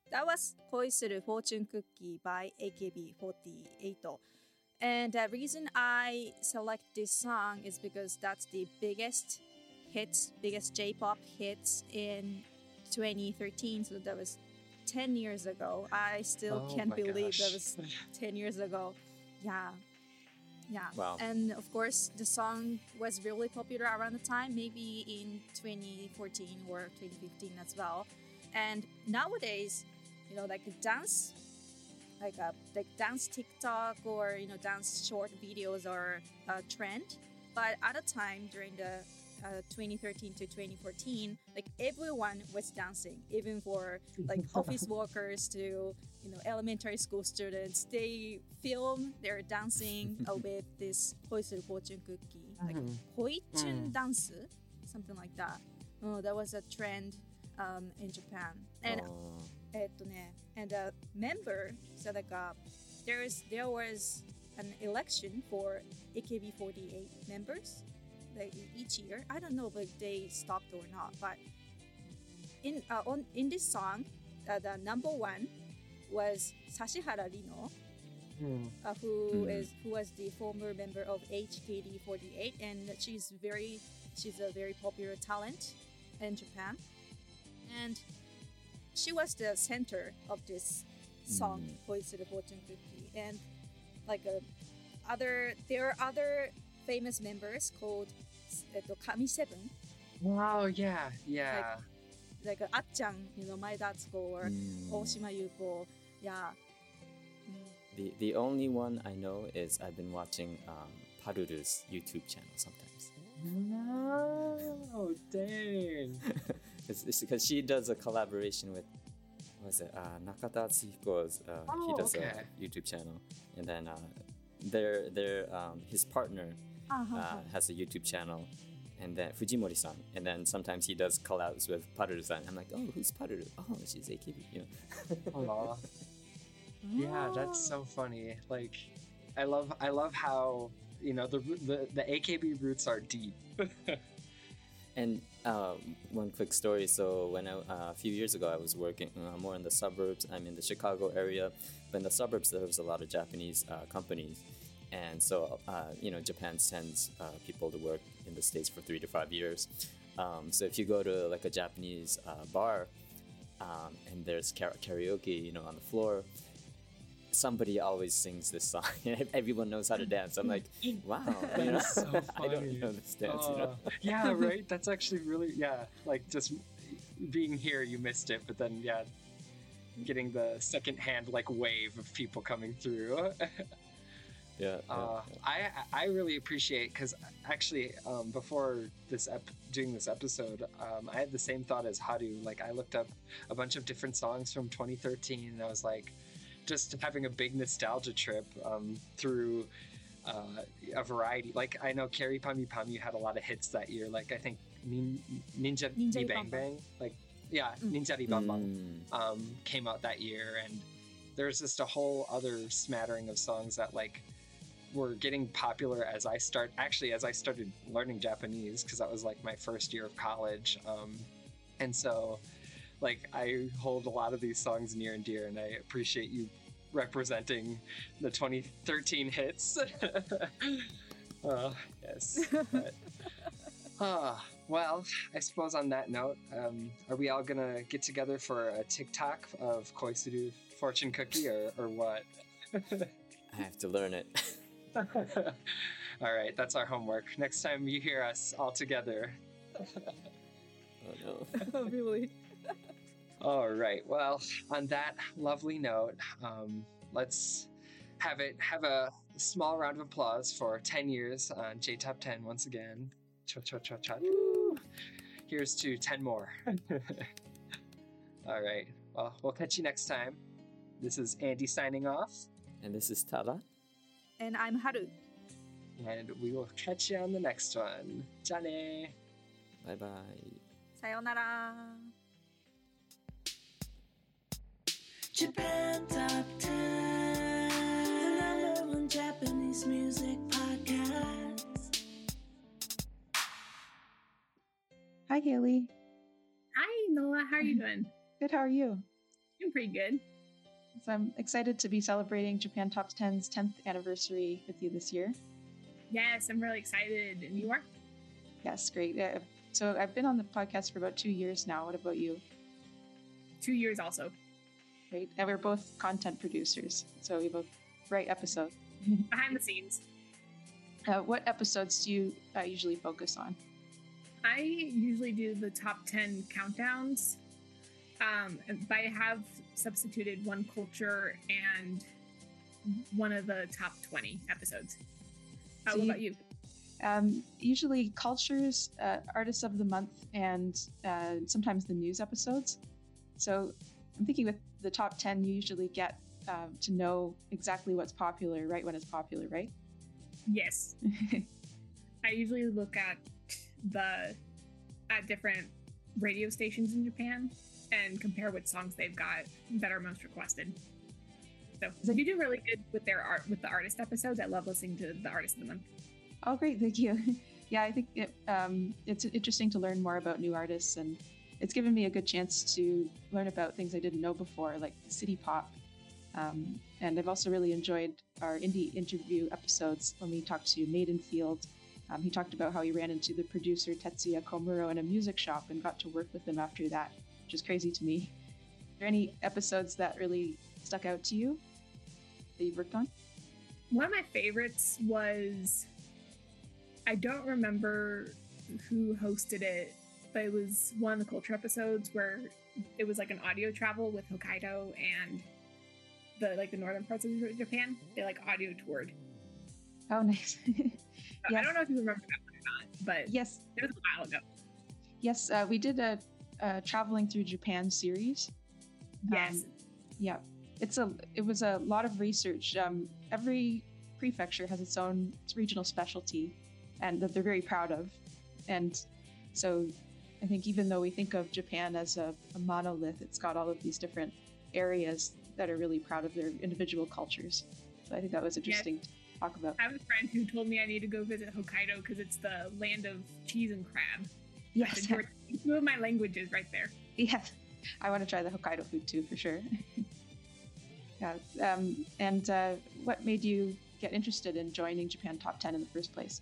that was 恋する Fortune Cookie by A K B forty-eight. And the reason I select this song is because that's the biggest hits, biggest J-pop hits in twenty thirteen. So that was ten years ago. I still Oh can't my believe gosh. that was ten years ago. Yeah. Yeah. Wow. And of course, the song was really popular around the time, maybe in twenty fourteen or twenty fifteen as well. And nowadays, you know, like dance, like a like dance TikTok or you know dance short videos are a trend. But at a time during the uh, twenty thirteen to twenty fourteen, like everyone was dancing, even for like office workers to you know elementary school students. They film their dancing uh, with this 恋する fortune cookie, like Mhm. Hoichun Mm. dance, something like that. Oh, that was a trend um, in Japan. And Oh. えっとね and a member so like uh, there is there was an election for A K B forty-eight members like each year. I don't know if they stopped or not, but in uh, on in this song, uh, the number one was Sashihara Rino, Hmm. uh, who Mhm. is who was the former member of H K D forty-eight, and she's very she's a very popular talent in Japan, and she was the center of this song, Mm. 恋する Fortune Cookie, and like uh, other there are other famous members called えっと Kami Seven, Wow, yeah, yeah. like uh, Ah-chan, you know, Maeda Atsuko or Mm. Oshima Yuko, yeah. Mm. The the only one I know is I've been watching um, Paruru's YouTube channel sometimes. No, dang. it's, it's because she does a collaboration with what was it uh, Nakata Atsuhiko's uh, he Oh, does okay. a YouTube channel, and then uh, their their um, his partner Uh-huh. uh, has a YouTube channel, and then Fujimori-san, and then sometimes he does collabs with Paruru-san. I'm like, oh, who's Paruru? Oh, she's A K B, you know. Aw. Yeah, that's so funny. Like, I love, I love how you know the the, the A K B roots are deep. And um, one quick story. So when I, uh, a few years ago, I was working uh, more in the suburbs. I'm in the Chicago area, but in the suburbs there was a lot of Japanese uh, companies, and so uh, you know Japan sends uh, people to work in the States for three to five years. Um, so if you go to like a Japanese uh, bar, um, and there's kara- karaoke, you know, on the floor, somebody always sings this song. Everyone knows how to dance. I'm like, wow, you know, That's so I don't funny. know this dance, you know. Aw. Yeah, right. That's actually really yeah. Like just being here, you missed it, but then yeah, getting the secondhand like wave of people coming through. Yeah. Uh, I I really appreciate because actually um, before this ep- doing this episode, um, I had the same thought as Haru. Like I looked up a bunch of different songs from twenty thirteen, and I was like, just having a big nostalgia trip um, through uh, a variety. Like I know Carrie Pami Pami had a lot of hits that year. Like I think Nin- Ninja Ninja Di Di Bang Bang Bang. Like yeah, Mm. Ninja Di Bang Bang Mm. um, came out that year, and there's just a whole other smattering of songs that like were getting popular as I start actually as I started learning Japanese because that was like my first year of college, um, and so like I hold a lot of these songs near and dear, and I appreciate you representing the twenty thirteen hits. uh, yes. But, uh, well, I suppose on that note, um, are we all gonna get together for a TikTok of Koisuru Fortune Cookie or, or what? I have to learn it. All right, that's our homework. Next time you hear us all together. Oh no. Really? All right. Well, on that lovely note, um, let's have it have a small round of applause for ten years on J Top ten once again. Cha cha cha cha. Here's to ten more. All right. Well, we'll catch you next time. This is Andy signing off, And this is Tada. And I'm Haru. and we will catch you on the next one. Ja ne. Bye bye. Sayonara. Japan Top ten, the number one Japanese music podcast. Hi, Haley. Hi, Noah. How are you doing? Good. How are you? Doing pretty good. So I'm excited to be celebrating Japan Top ten's tenth anniversary with you this year. Yes, I'm really excited. And you are? Yes, great. Uh, so I've been on the podcast for about two years now. What about you? Two years also. Great. And we're both content producers, so we both write episodes. Behind the scenes. Uh, what episodes do you uh, usually focus on? I usually do the top ten countdowns, um, but I have substituted one culture and one of the top twenty episodes. How So what you- about you? Um, usually cultures, uh, artists of the month, and uh, sometimes the news episodes. So I'm thinking with the top ten, you usually get um, to know exactly what's popular right when it's popular, right? Yes. I usually look at the at different radio stations in Japan and compare what songs they've got that are most requested. So you do really good with their art with the artist episodes. I love listening to the artist of the month. Oh, great. Thank you. Yeah, I think it, um, it's interesting to learn more about new artists, and it's given me a good chance to learn about things I didn't know before, like city pop. Um, and I've also really enjoyed our indie interview episodes when we talked to Maidenfield. Um, he talked about how he ran into the producer Tetsuya Komuro in a music shop and got to work with him after that, which is crazy to me. Are there any episodes that really stuck out to you that you've worked on? One of my favorites was, I don't remember who hosted it, but it was one of the culture episodes where it was like an audio travel with Hokkaido and the like the northern parts of Japan. They like audio toured. Oh, nice. I don't know if you remember that one or not, but yes, it was a while ago. Yes, uh, we did a, a traveling through Japan series. Yes. Um, yeah, it's a it was a lot of research. Um, every prefecture has its own regional specialty, and that they're very proud of. And so, I think even though we think of Japan as a, a monolith, it's got all of these different areas that are really proud of their individual cultures. So I think that was interesting Yes. to talk about. I have a friend who told me I need to go visit Hokkaido because it's the land of cheese and crab. Yes. I said, "You're two of my languages right there." Yeah, I want to try the Hokkaido food too, for sure. Yeah. Um, and uh, what made you get interested in joining Japan Top ten in the first place?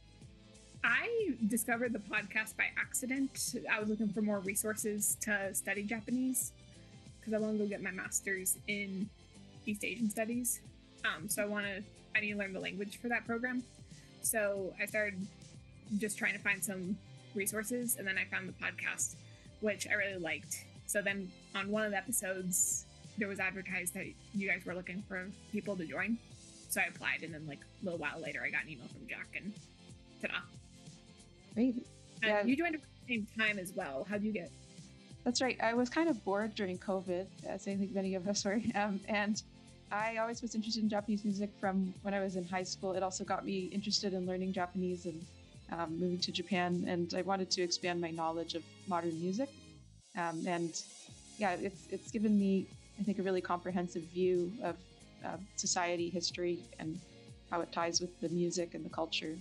I discovered the podcast by accident. I was looking for more resources to study Japanese because I want to go get my master's in East Asian Studies. Um, so I want to, I need to learn the language for that program. So I started just trying to find some resources, and then I found the podcast, which I really liked. So then on one of the episodes, there was advertised that you guys were looking for people to join. So I applied, and then like a little while later, I got an email from Jack, and ta-da. Great. And Yeah. you joined at the same time as well. How'd you get? That's right. I was kind of bored during COVID, as I think many of us were. Um, and I always was interested in Japanese music from when I was in high school. It also got me interested in learning Japanese and um, moving to Japan. And I wanted to expand my knowledge of modern music. Um, and yeah, it's, it's given me, I think, a really comprehensive view of uh, society, history, and how it ties with the music and the culture.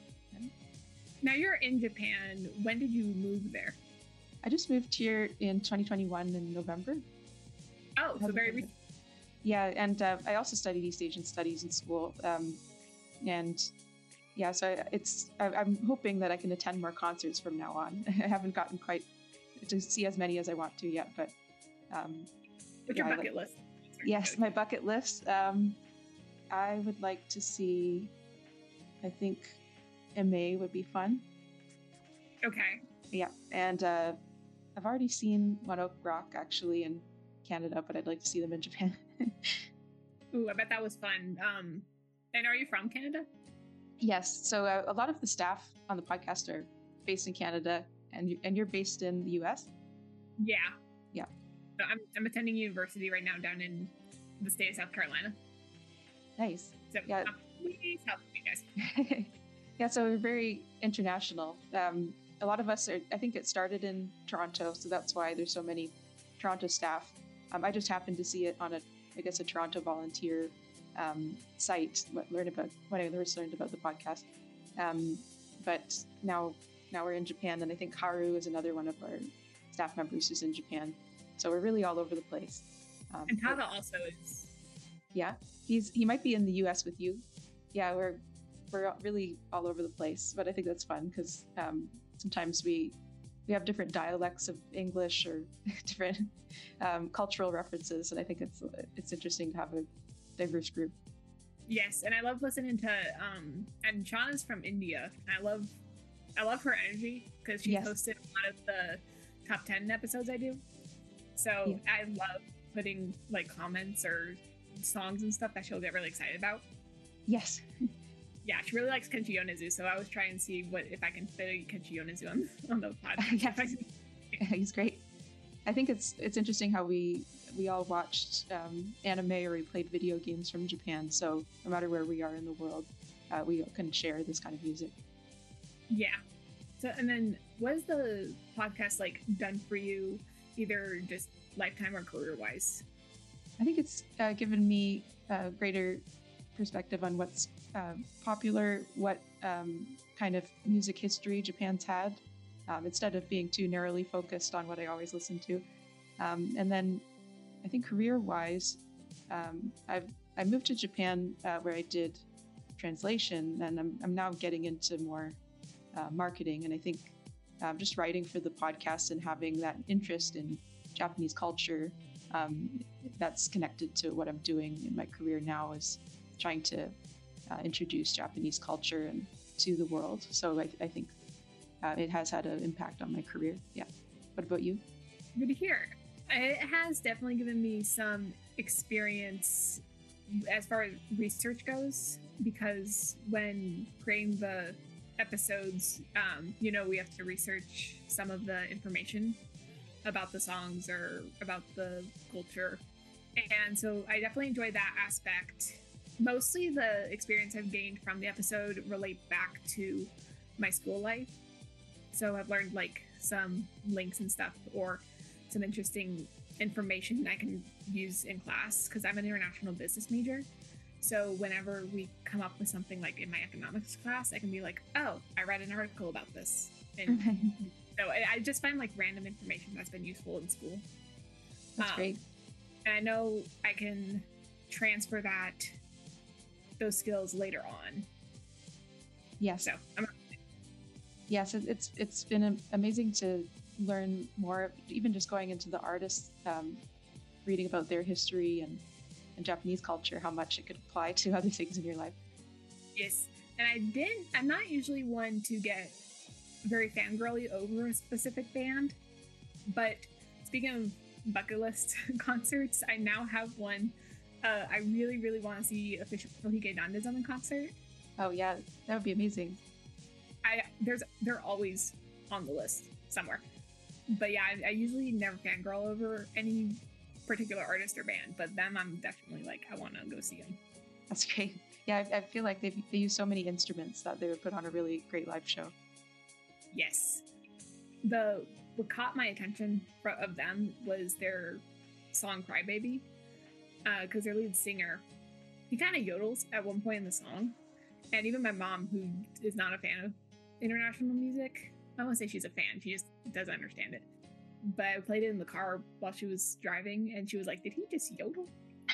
Now you're in Japan. When did you move there? I just moved here in twenty twenty-one in November. Oh, so very recent. Yeah, and uh, I also studied East Asian Studies in school. Um, and yeah, so I- it's I, I'm hoping that I can attend more concerts from now on. I haven't gotten quite to see as many as I want to yet, but um, What's yeah, your I bucket like- list? Yes, my bucket list. Um, I would like to see. I think M A would be fun. Okay. Yeah, and uh, I've already seen One Ok Rock actually in Canada, but I'd like to see them in Japan. Ooh, I bet that was fun. Um, and are you from Canada? Yes, so uh, a lot of the staff on the podcast are based in Canada, and you, and you're based in the U S. Yeah. Yeah. So I'm I'm attending university right now down in the state of South Carolina. Nice. So Yeah. um, way south of you guys. Yeah, so we're very international. Um, a lot of us are, I think it started in Toronto, so that's why there's so many Toronto staff. Um, I just happened to see it on a, I guess, a Toronto volunteer um, site, what- learn about, when I first learned about the podcast. Um, but now, now we're in Japan, and I think Haru is another one of our staff members who's in Japan. So we're really all over the place. Um, And Tada also is. Yeah, he's he might be in the U S with you. Yeah, we're we're really all over the place, but I think that's fun because um, sometimes we we have different dialects of English or different um, cultural references, and I think it's it's interesting to have a diverse group. Yes, and I love listening to um and Shauna's from India. I love I love her energy because she's Yes. hosted a lot of the top ten episodes I do. So Yeah. I love putting like comments or songs and stuff that she'll get really excited about. Yes. Yeah, she really likes Kenshi Yonezu, so I was trying to see what if I can fit a Kenshi Yonezu on, on the podcast. Yeah. He's great. I think it's it's interesting how we we all watched um, anime or we played video games from Japan. So no matter where we are in the world, uh, we can share this kind of music. Yeah. So and then what is the podcast like done for you, either just lifetime or career wise? I think it's uh, given me a greater perspective on what's uh, popular, what um, kind of music history Japan's had, um, instead of being too narrowly focused on what I always listen to. Um, and then I think career-wise, um, I've I moved to Japan uh, where I did translation, and I'm, I'm now getting into more uh, marketing. And I think um, just writing for the podcast and having that interest in Japanese culture, um, that's connected to what I'm doing in my career now, is trying to uh, introduce Japanese culture and to the world. So I, I think uh, it has had an impact on my career. Yeah. What about you? Good to hear. It has definitely given me some experience as far as research goes, because when creating the episodes, um, you know, we have to research some of the information about the songs or about the culture. And so I definitely enjoy that aspect. Mostly the experience I've gained from the episode relate back to my school life. So I've learned like some links and stuff, or some interesting information I can use in class, because I'm an international business major. So whenever we come up with something like in my economics class, I can be like, oh, I read an article about this. And so I I just find like random information that's been useful in school. That's Um, great. And I know I can transfer that, those skills later on. Yes. So I'm Yes, it- it's it's been am- amazing to learn more, even just going into the artists, um, reading about their history and, and Japanese culture, how much it could apply to other things in your life. Yes, and I didn't. I'm not usually one to get very fangirly over a specific band, but speaking of bucket list concerts, I now have one. Uh, I really, really want to see official Hige Dandism in concert. Oh yeah, that would be amazing. I there's they're always on the list somewhere, but yeah, I, I usually never fangirl over any particular artist or band, but them I'm definitely like I want to go see them. That's great. Yeah, I, I feel like they they use so many instruments that they would put on a really great live show. Yes. The what caught my attention fro- of them was their song "Crybaby," because their lead singer, he kind of yodels at one point in the song, and even my mom, who is not a fan of international music, I don't want to say she's a fan, she just doesn't understand it. But I played it in the car while she was driving, and she was like, "Did he just yodel?"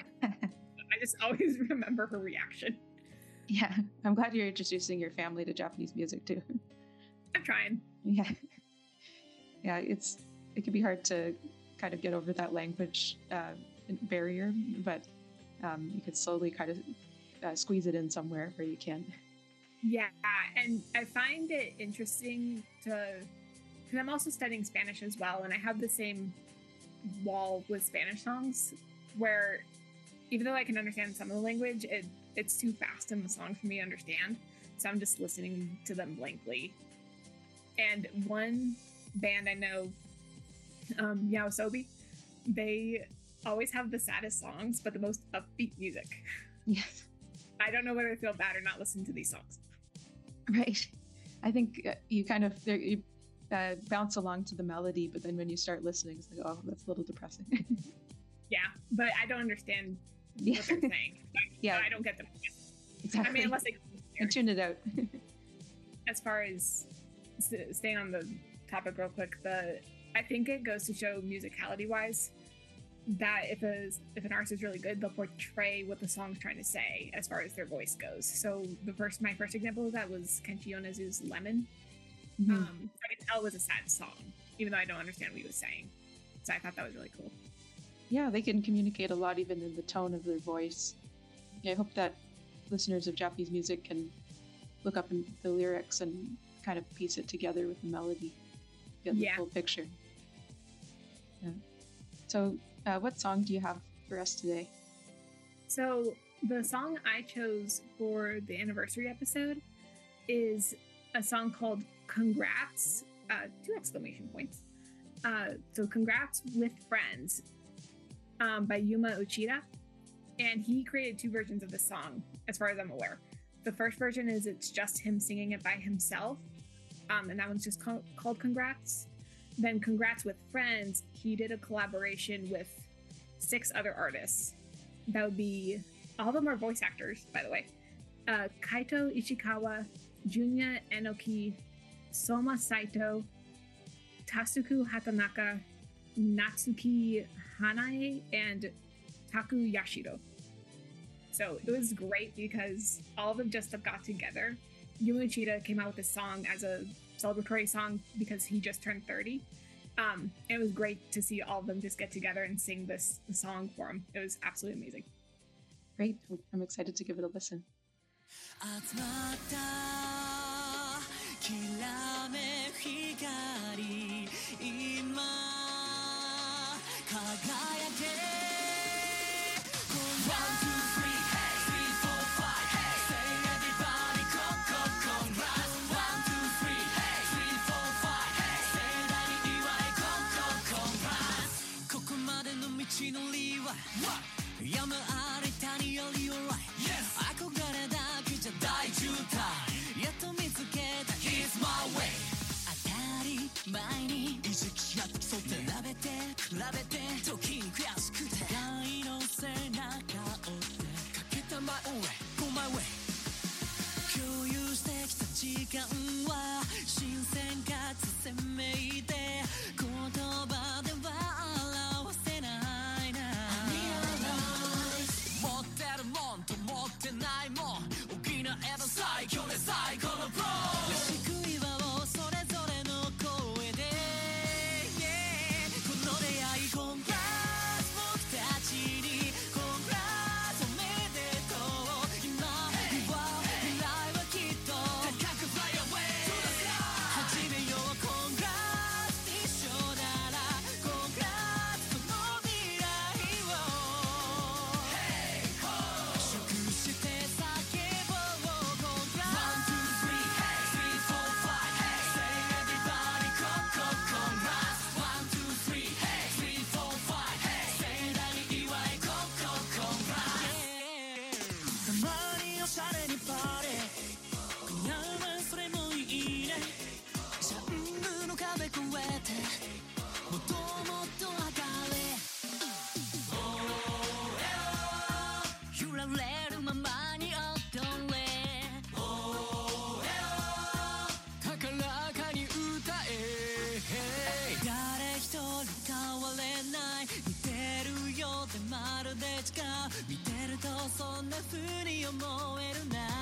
I just always remember her reaction. Yeah, I'm glad you're introducing your family to Japanese music too. I'm trying. Yeah, yeah, it's it can be hard to kind of get over that language uh, barrier, but um, you could slowly kind of uh, squeeze it in somewhere where you can. Yeah, and I find it interesting to, because I'm also studying Spanish as well, and I have the same wall with Spanish songs, where even though I can understand some of the language, it, it's too fast in the song for me to understand, so I'm just listening to them blankly. And one band I know, um, Yaosobi, they always have the saddest songs, but the most upbeat music. Yes. I don't know whether I feel bad or not listening to these songs. Right. I think uh, you kind of there- you, uh, bounce along to the melody, but then when you start listening, it's like, oh, that's a little depressing. Yeah, but I don't understand Yeah. what they're saying. Yeah. I don't get them. Exactly. I mean, unless they And tune it out. as far as s- staying on the topic real quick, the I think it goes to show musicality wise that if a if an artist is really good, they'll portray what the song's trying to say as far as their voice goes. So the first my first example of that was Kenshi Yonezu's Lemon. Mhm. Um, I could tell it was a sad song, even though I don't understand what he was saying. So I thought that was really cool. Yeah, they can communicate a lot even in the tone of their voice. Yeah, I hope that listeners of Japanese music can look up in the lyrics and kind of piece it together with the melody, get the Yeah. full picture. Yeah. So, uh, what song do you have for us today? So the song I chose for the anniversary episode is a song called Congrats, uh, two exclamation points. Uh, so Congrats with Friends um, by Yuma Uchida. And he created two versions of the song, as far as I'm aware. The first version is it's just him singing it by himself. Um, and that one's just called, called Congrats. Then Congrats with Friends, he did a collaboration with six other artists. That would be, all of them are voice actors, by the way. Uh, Kaito Ishikawa, Junya Enoki, Soma Saito, Tasuku Hatanaka, Natsuki Hanae, and Taku Yashiro. So it was great because all of them just got together. Yuma Uchida came out with this song as a celebratory song because he just turned thirty. Um, and it was great to see all of them just get together and sing this song for him. It was absolutely amazing. Great. I'm excited to give it a listen. 集まったきらめく光今輝け One, two, three, hey, three, four, five, hey, say everybody, con, con, congrats. One, two, three, hey, three, four, five, hey, say thatに祝い con, con, congrats. ここまでの道のりは山あり谷より alright。 憧れだけじゃ大渋滞やっと見つけた Here's my way。 当たり前に意識やって競って比べて比べて時に悔しくて愛の背中を追ってかけた My own way Go my way。 共有してきた時間は新鮮かつ鮮明で言葉では表せないな。持ってるもんと持ってないもん補えば最強で最高のプロ救い場をそれぞれの声で、yeah、この出会い Congrats 僕たちに Congrats おめでとう今は未来はきっと高く Fly away to the sky 始めよう Congrats 一緒なら Congrats この未来を、hey, oh、祝して叫ぼう Congrats One, two, three, hey, three, four, five, hey, say everybody con, con, congrats One, two, three, hey, three, four, five, hey, say thatに祝い con, con, congrats たまにおしゃれにパーティー今夜はそれもいいねジャンルの壁越えてもっともっと上がれ揺られるままに踊れ高らかに歌え誰一人変われない似てるようでまるで違う見てるとそんな風に思えるな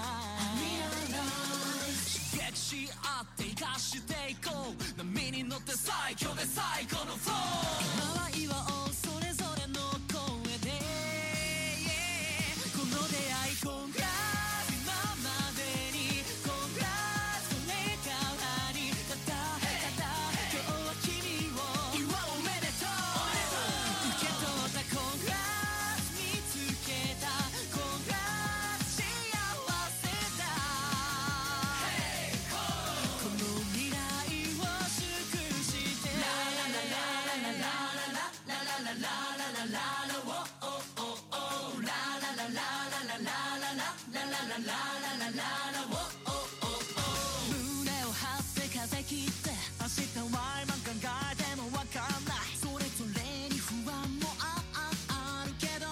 刺激し合って生かしていこう波に乗って最強で最高のフロー今は岩をそれぞれの声で、yeah、この出会い Congrats 今までに Congrats これからにただただ今日は君を祝うおめでとう受け取った Congrats 見つけた Congrats 幸せだ、hey、この未来を祝してラララララララララララララララララおおおおララララララララララララララララおおお胸を張って風切って明日は今考えてもわかんないそれぞれに不安もあああるけど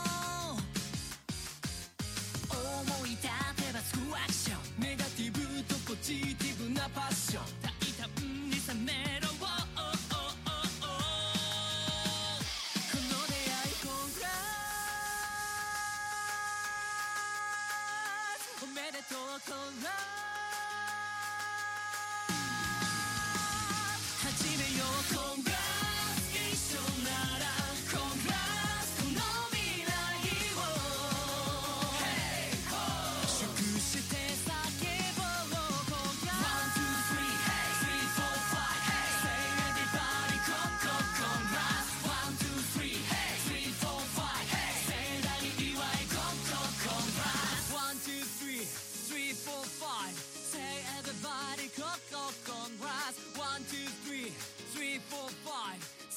思い立てばつくアクションネガティブとポジティブなパッション大胆に冷めろおおおおおこの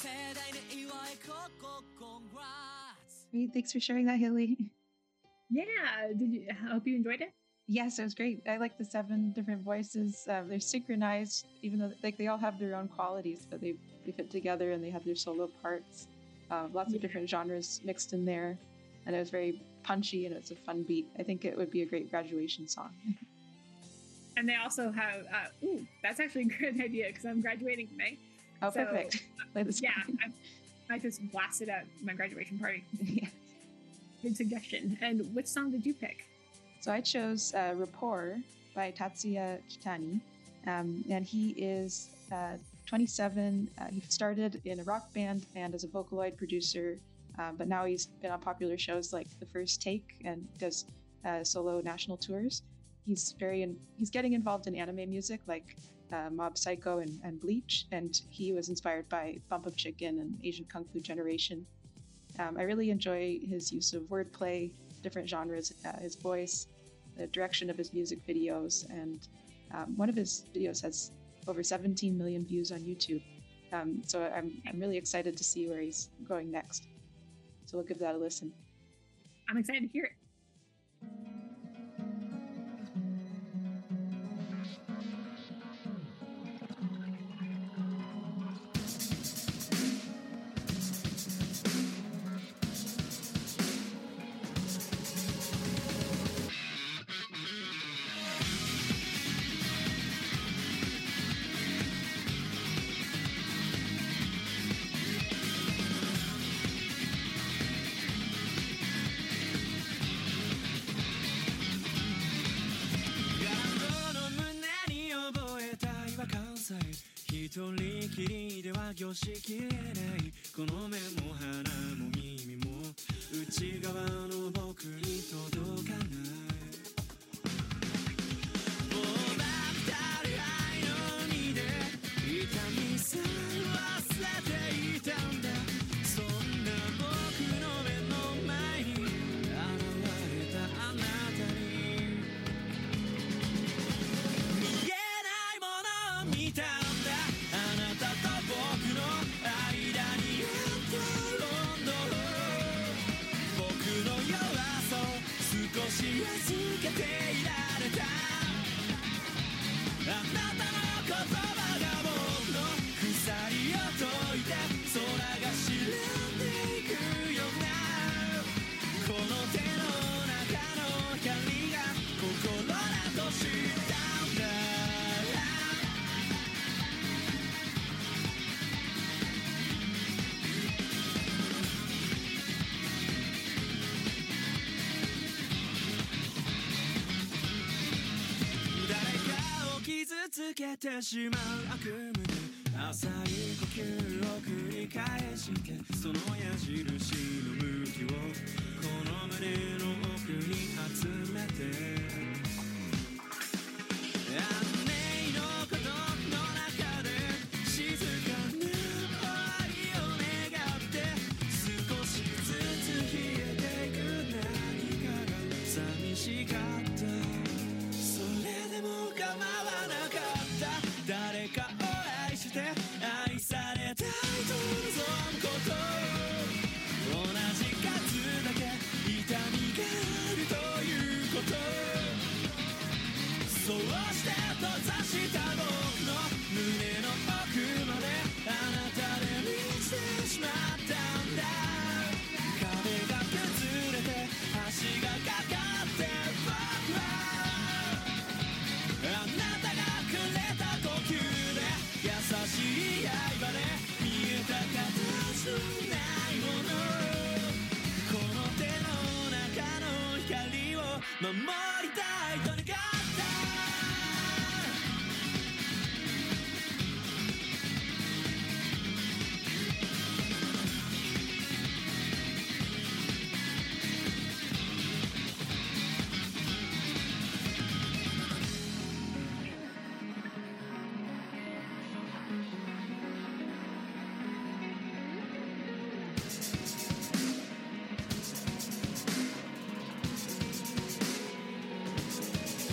Great, thanks for sharing that, Hilly. Yeah, did you? I hope you enjoyed it. Yes, it was great. I like the seven different voices. Um, they're synchronized, even though like they all have their own qualities, but they they fit together and they have their solo parts. Uh, lots of different genres mixed in there, and it was very punchy and it's a fun beat. I think it would be a great graduation song. And they also have. Uh, ooh, that's actually a good idea because I'm graduating in May. Oh, So, perfect. Play this Yeah, one. I, I just blasted at my graduation party. Yeah. Good suggestion. And which song did you pick? So I chose uh, Rapport by Tatsuya Kitani. Um, and he is uh, twenty-seven. Uh, he started in a rock band and as a Vocaloid producer, um, but now he's been on popular shows like The First Take and does uh, solo national tours. He's very in, he's getting involved in anime music like uh, Mob Psycho and, and Bleach, and he was inspired by Bump of Chicken and Asian Kung Fu Generation. Um, I really enjoy his use of wordplay, different genres, uh, his voice, the direction of his music videos, and um, one of his videos has over seventeen million views on YouTube. Um, so I'm, I'm really excited to see where he's going next. So we'll give that a listen. I'm excited to hear it.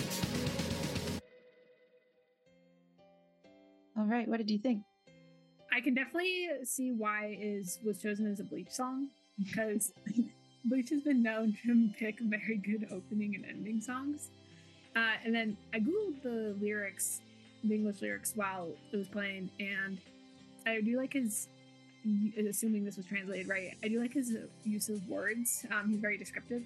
All right, what did you think? I can definitely see why is was chosen as a Bleach song because Bleach has been known to pick very good opening and ending songs. Uh, and then I googled the lyrics, the English lyrics while it was playing, and I do like his. Assuming this was translated right, I do like his use of words. Um, he's very descriptive,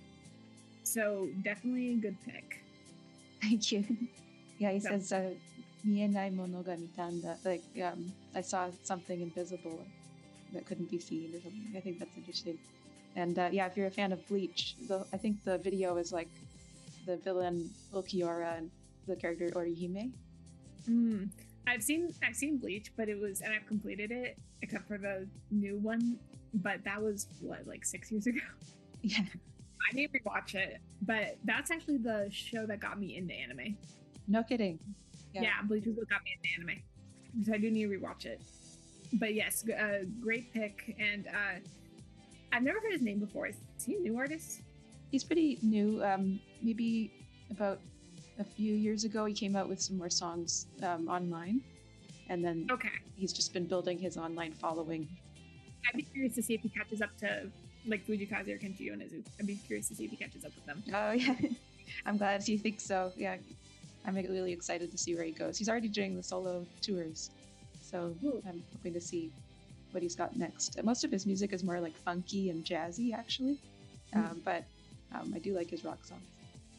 so definitely a good pick. Thank you. Yeah, he So- says, uh, "Mienai mono ga mitanda." Like, um, I saw something invisible that couldn't be seen, or something. I think that's interesting. And uh, yeah, if you're a fan of Bleach, the, I think the video is like the villain Ulquiorra and the character Orihime. Mm. I've seen I've seen Bleach, but it was and I've completed it except for the new one. But that was what like six years ago. Yeah, I need to rewatch it. But that's actually the show that got me into anime. No kidding. Yeah, Bleach is what got me into anime. So I do need to rewatch it. But yes, g- uh, great pick. And uh, I've never heard his name before. Is he a new artist? He's pretty new. Um, maybe about a few years ago, he came out with some more songs um, online, and then okay, he's just been building his online following. I'd be curious to see if he catches up to like Fujikaze or Kenji Yonezu. I'd be curious to see if he catches up with them. Oh yeah, I'm glad you think so. Yeah, I'm really excited to see where he goes. He's already doing the solo tours, so I'm hoping to see what he's got next. Most of his music is more like funky and jazzy, actually, um, but um, I do like his rock songs.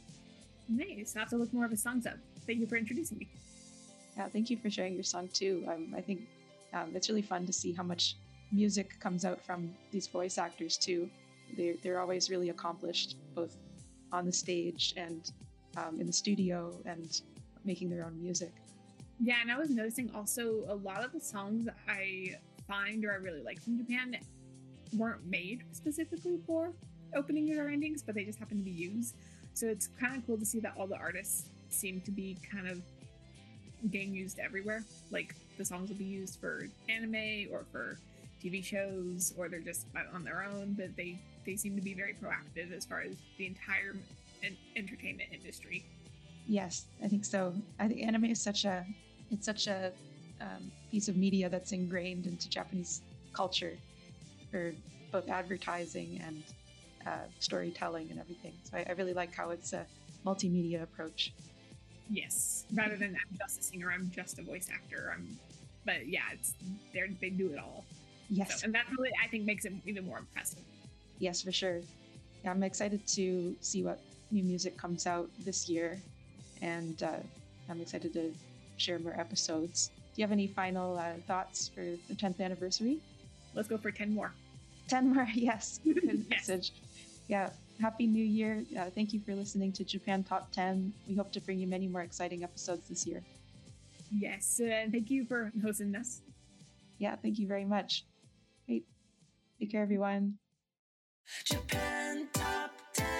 Nice. I'll have to look more of his songs up. Thank you for introducing me. Yeah, thank you for sharing your song too. Um, I think um, it's really fun to see how much music comes out from these voice actors too. They're they're always really accomplished, both on the stage and um, in the studio, and making their own music. Yeah, and I was noticing also a lot of the songs I find or I really like from Japan weren't made specifically for openings or endings, but they just happen to be used. So it's kind of cool to see that all the artists seem to be kind of getting used everywhere. Like the songs will be used for anime or for T V shows, or they're just on their own, but they, they seem to be very proactive as far as the entire en- entertainment industry. Yes, I think so. I think anime is such a it's such a um, piece of media that's ingrained into Japanese culture for both advertising and uh, storytelling and everything. So I, I really like how it's a multimedia approach. Yes, rather than I'm just a singer, I'm just a voice actor. I'm, but yeah, it's they they do it all. Yes, so, and that really I think makes it even more impressive. Yes, for sure. Yeah, I'm excited to see what new music comes out this year, and uh, I'm excited to share more episodes. Do you have any final uh, thoughts for the tenth anniversary? Let's go for ten more. ten more, yes. Good Yes. message. Yeah, Happy New Year. Uh, thank you for listening to Japan Top ten. We hope to bring you many more exciting episodes this year. Yes, and thank you for hosting us. Yeah, thank you very much. Great. Take care, everyone. Japan Top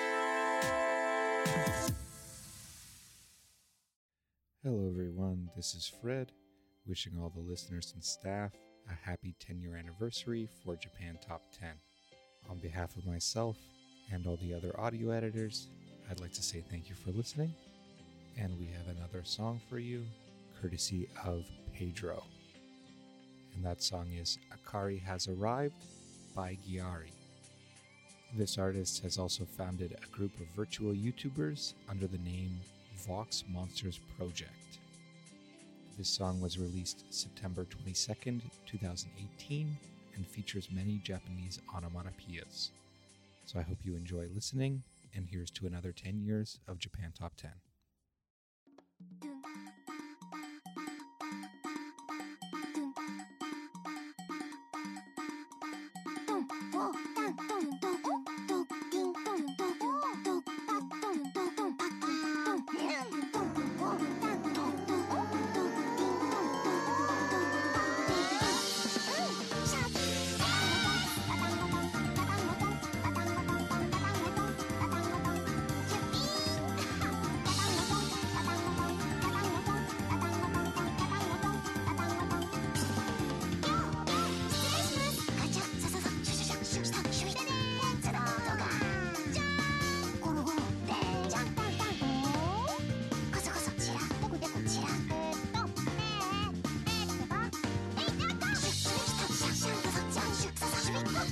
Hello, everyone. This is Fred, wishing all the listeners and staff a happy ten-year anniversary for Japan Top ten. On behalf of myself and all the other audio editors, I'd like to say thank you for listening, and we have another song for you, courtesy of Pedro. And that song is Akari Has Arrived by Gyari. This artist has also founded a group of virtual YouTubers under the name Vox Monsters Project. This song was released September twenty-second, twenty eighteen, and features many Japanese onomatopoeias. So I hope you enjoy listening, and here's to another ten years of Japan Top ten. Happy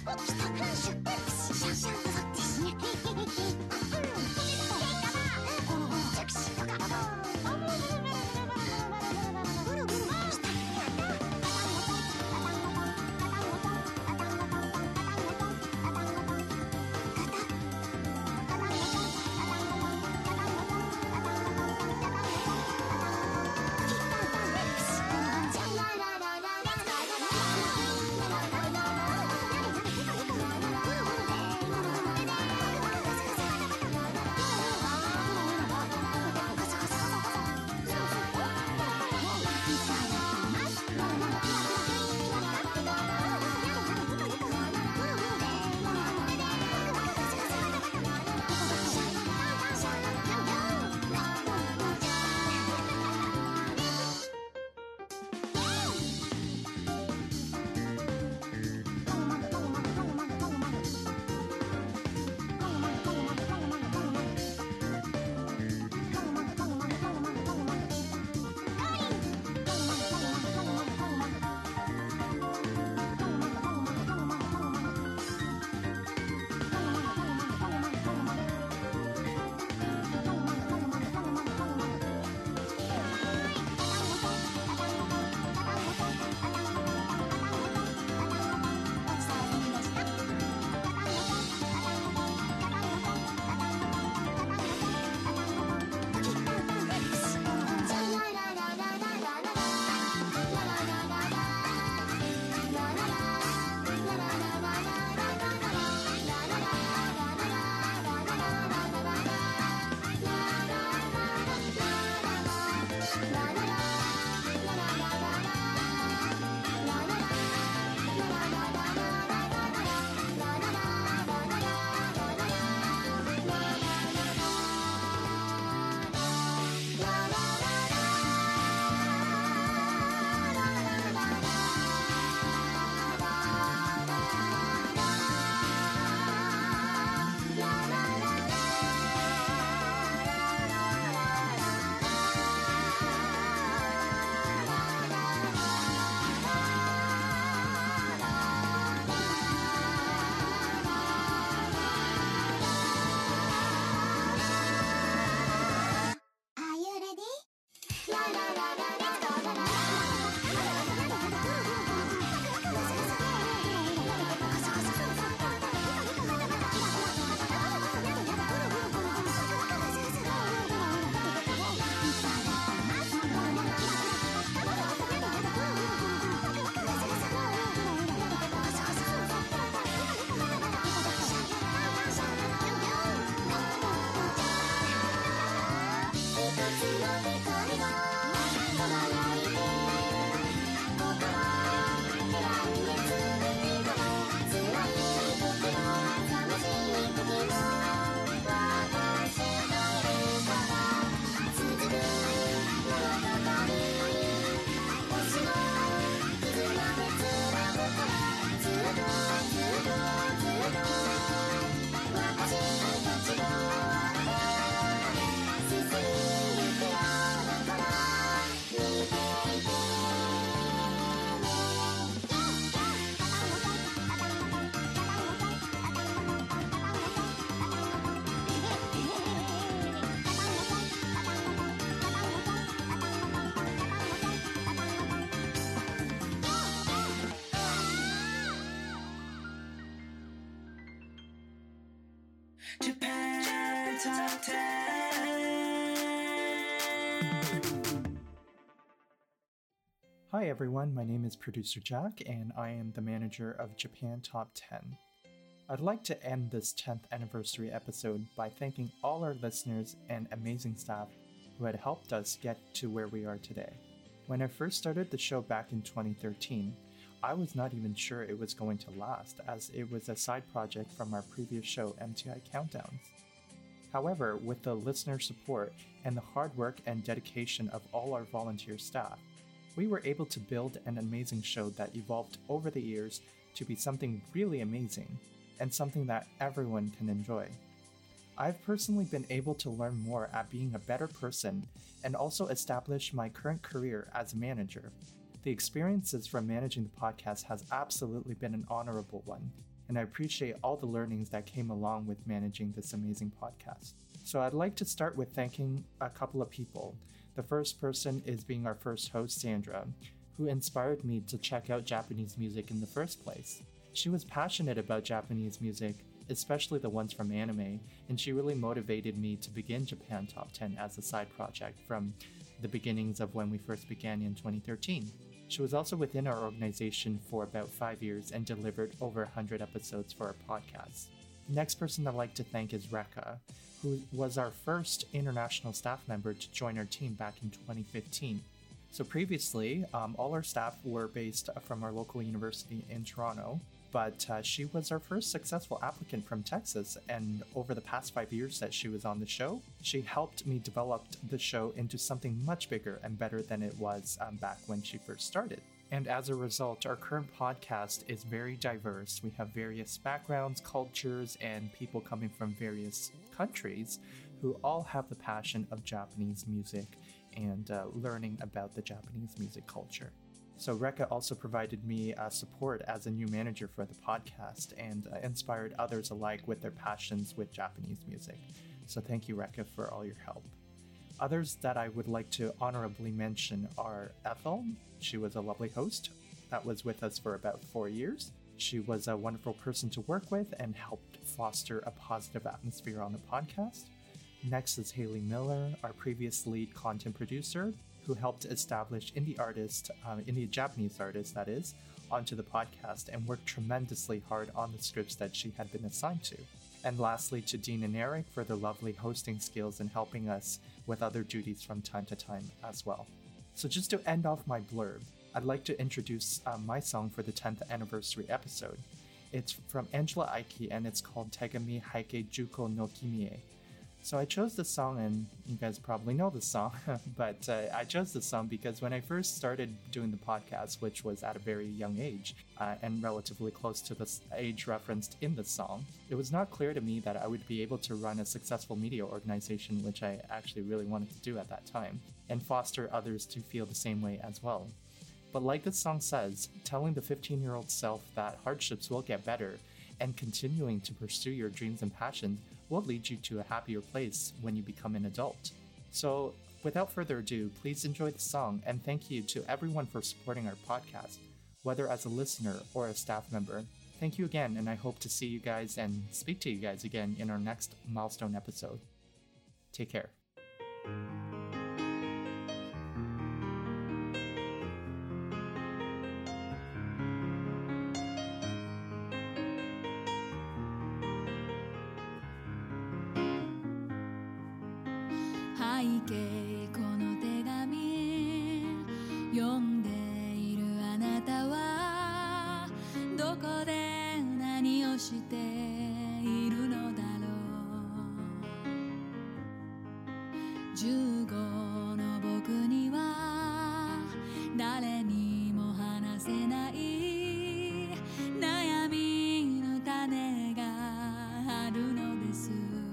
Japan Top ten. Hi everyone, my name is Producer Jack, and I am the manager of Japan Top ten. I'd like to end this tenth anniversary episode by thanking all our listeners and amazing staff who had helped us get to where we are today. When I first started the show back in twenty thirteen, I was not even sure it was going to last, as it was a side project from our previous show, M T I Countdowns. However, with the listener support and the hard work and dedication of all our volunteer staff, we were able to build an amazing show that evolved over the years to be something really amazing, and something that everyone can enjoy. I've personally been able to learn more at being a better person and also establish my current career as a manager. The experiences from managing the podcast has absolutely been an honorable one, and I appreciate all the learnings that came along with managing this amazing podcast. So I'd like to start with thanking a couple of people. The first person is being our first host, Sandra, who inspired me to check out Japanese music in the first place. She was passionate about Japanese music, especially the ones from anime, and she really motivated me to begin Japan Top ten as a side project from the beginnings of when we first began in twenty thirteen. She was also within our organization for about five years and delivered over one hundred episodes for our podcast. The next person I'd like to thank is Rekka, who was our first international staff member to join our team back in twenty fifteen. So previously, um, all our staff were based from our local university in Toronto, but uh, she was our first successful applicant from Texas, and over the past five years that she was on the show, she helped me develop the show into something much bigger and better than it was um, back when she first started. And as a result, our current podcast is very diverse. We have various backgrounds, cultures, and people coming from various countries who all have the passion of Japanese music and uh, learning about the Japanese music culture. So Rekka also provided me uh, support as a new manager for the podcast and uh, inspired others alike with their passions with Japanese music. So thank you, Rekka, for all your help. Others that I would like to honorably mention are Ethel. She was a lovely host that was with us for about four years. She was a wonderful person to work with and helped foster a positive atmosphere on the podcast. Next is Haley Miller, our previous lead content producer, who helped establish indie artists, um, indie Japanese artists that is, onto the podcast and worked tremendously hard on the scripts that she had been assigned to. And lastly, to Dean and Eric for their lovely hosting skills and helping us with other duties from time to time as well. So just to end off my blurb, I'd like to introduce uh, my song for the tenth anniversary episode. It's from Angela Aiki and it's called Tegami Heike Juko no Kimie. So I chose this song, and you guys probably know this song, but uh, I chose this song because when I first started doing the podcast, which was at a very young age, uh, and relatively close to the age referenced in the song, it was not clear to me that I would be able to run a successful media organization, which I actually really wanted to do at that time, and foster others to feel the same way as well. But like the song says, telling the fifteen-year-old self that hardships will get better and continuing to pursue your dreams and passions will lead you to a happier place when you become an adult. So, without further ado, please enjoy the song, and thank you to everyone for supporting our podcast, whether as a listener or a staff member. Thank you again, and I hope to see you guys and speak to you guys again in our next milestone episode. Take care. 背景この手紙読んでいるあなたはどこで何をしているのだろうじゅうごの僕には誰にも話せない悩みの種があるのです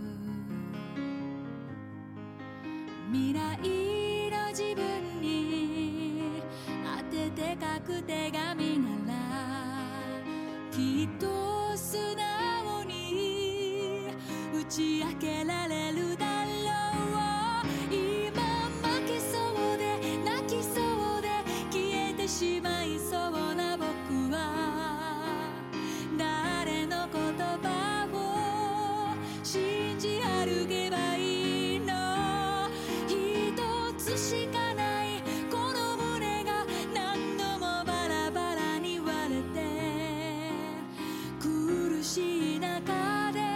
未来の自分に当てて書く手紙ならきっと素直に打ち明けられるだろう今負けそうで泣きそうで消えてしまいそうな僕は誰の言葉を信じ歩けばいいのしかないこの胸が何度もバラバラに割れて苦しい中で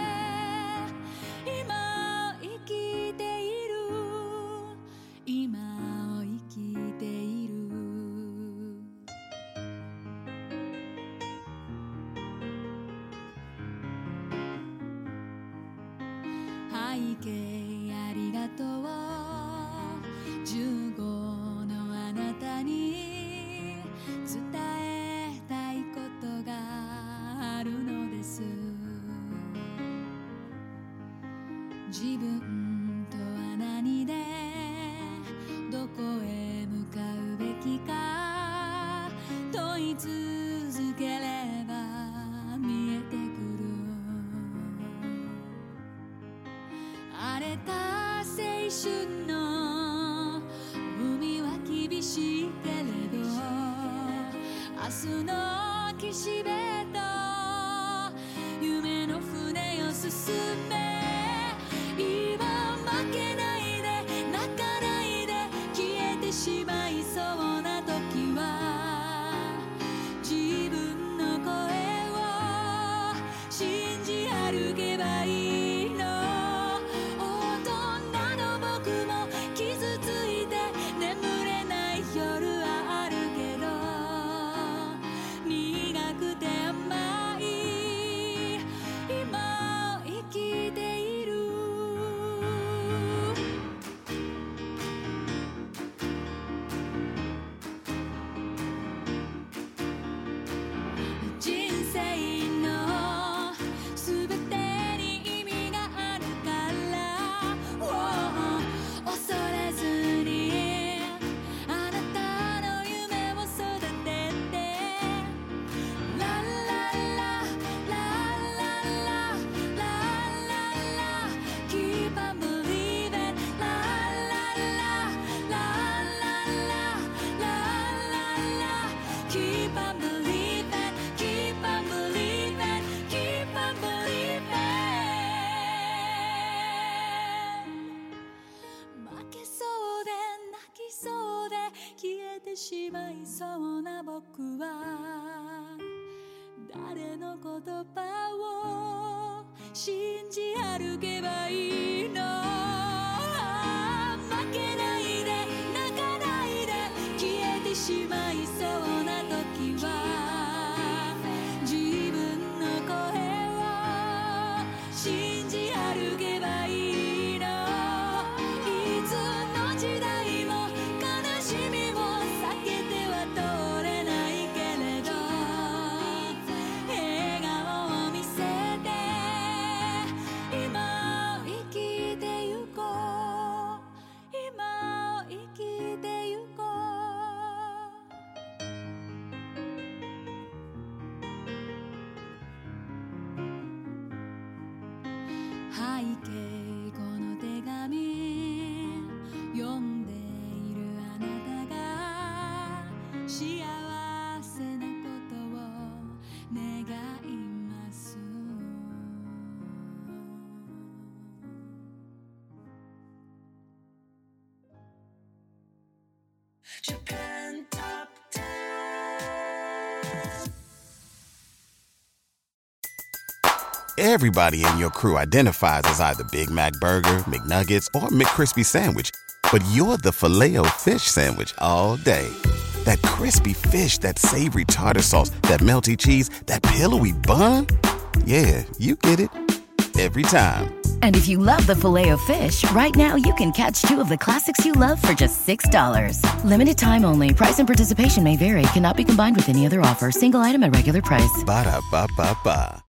今生きている今を生きている背景ありがとうじゅうごのあなたに伝えたいことがあるのです自分とは何でどこへ向かうべきか問い続ければ見えてくる言葉を信じ歩けばいいの。負けないで泣かないで消えてしまいそうな時は自分の声を信じ歩けばいいの。いつの時代も悲しみも避けては通れないけれど笑顔を見せて今を生きてゆこう。今を生きてゆこう。背景この手紙読んでいるあなたが幸せなことを願います。 Japan Top ten. Everybody in your crew identifies as either Big Mac Burger, McNuggets, or McCrispy Sandwich. But you're the Filet-O-Fish Sandwich all day. That crispy fish, that savory tartar sauce, that melty cheese, that pillowy bun. Yeah, you get it. Every time. And if you love the Filet-O-Fish, right now you can catch two of the classics you love for just six dollars. Limited time only. Price and participation may vary. Cannot be combined with any other offer. Single item at regular price. Ba-da-ba-ba-ba.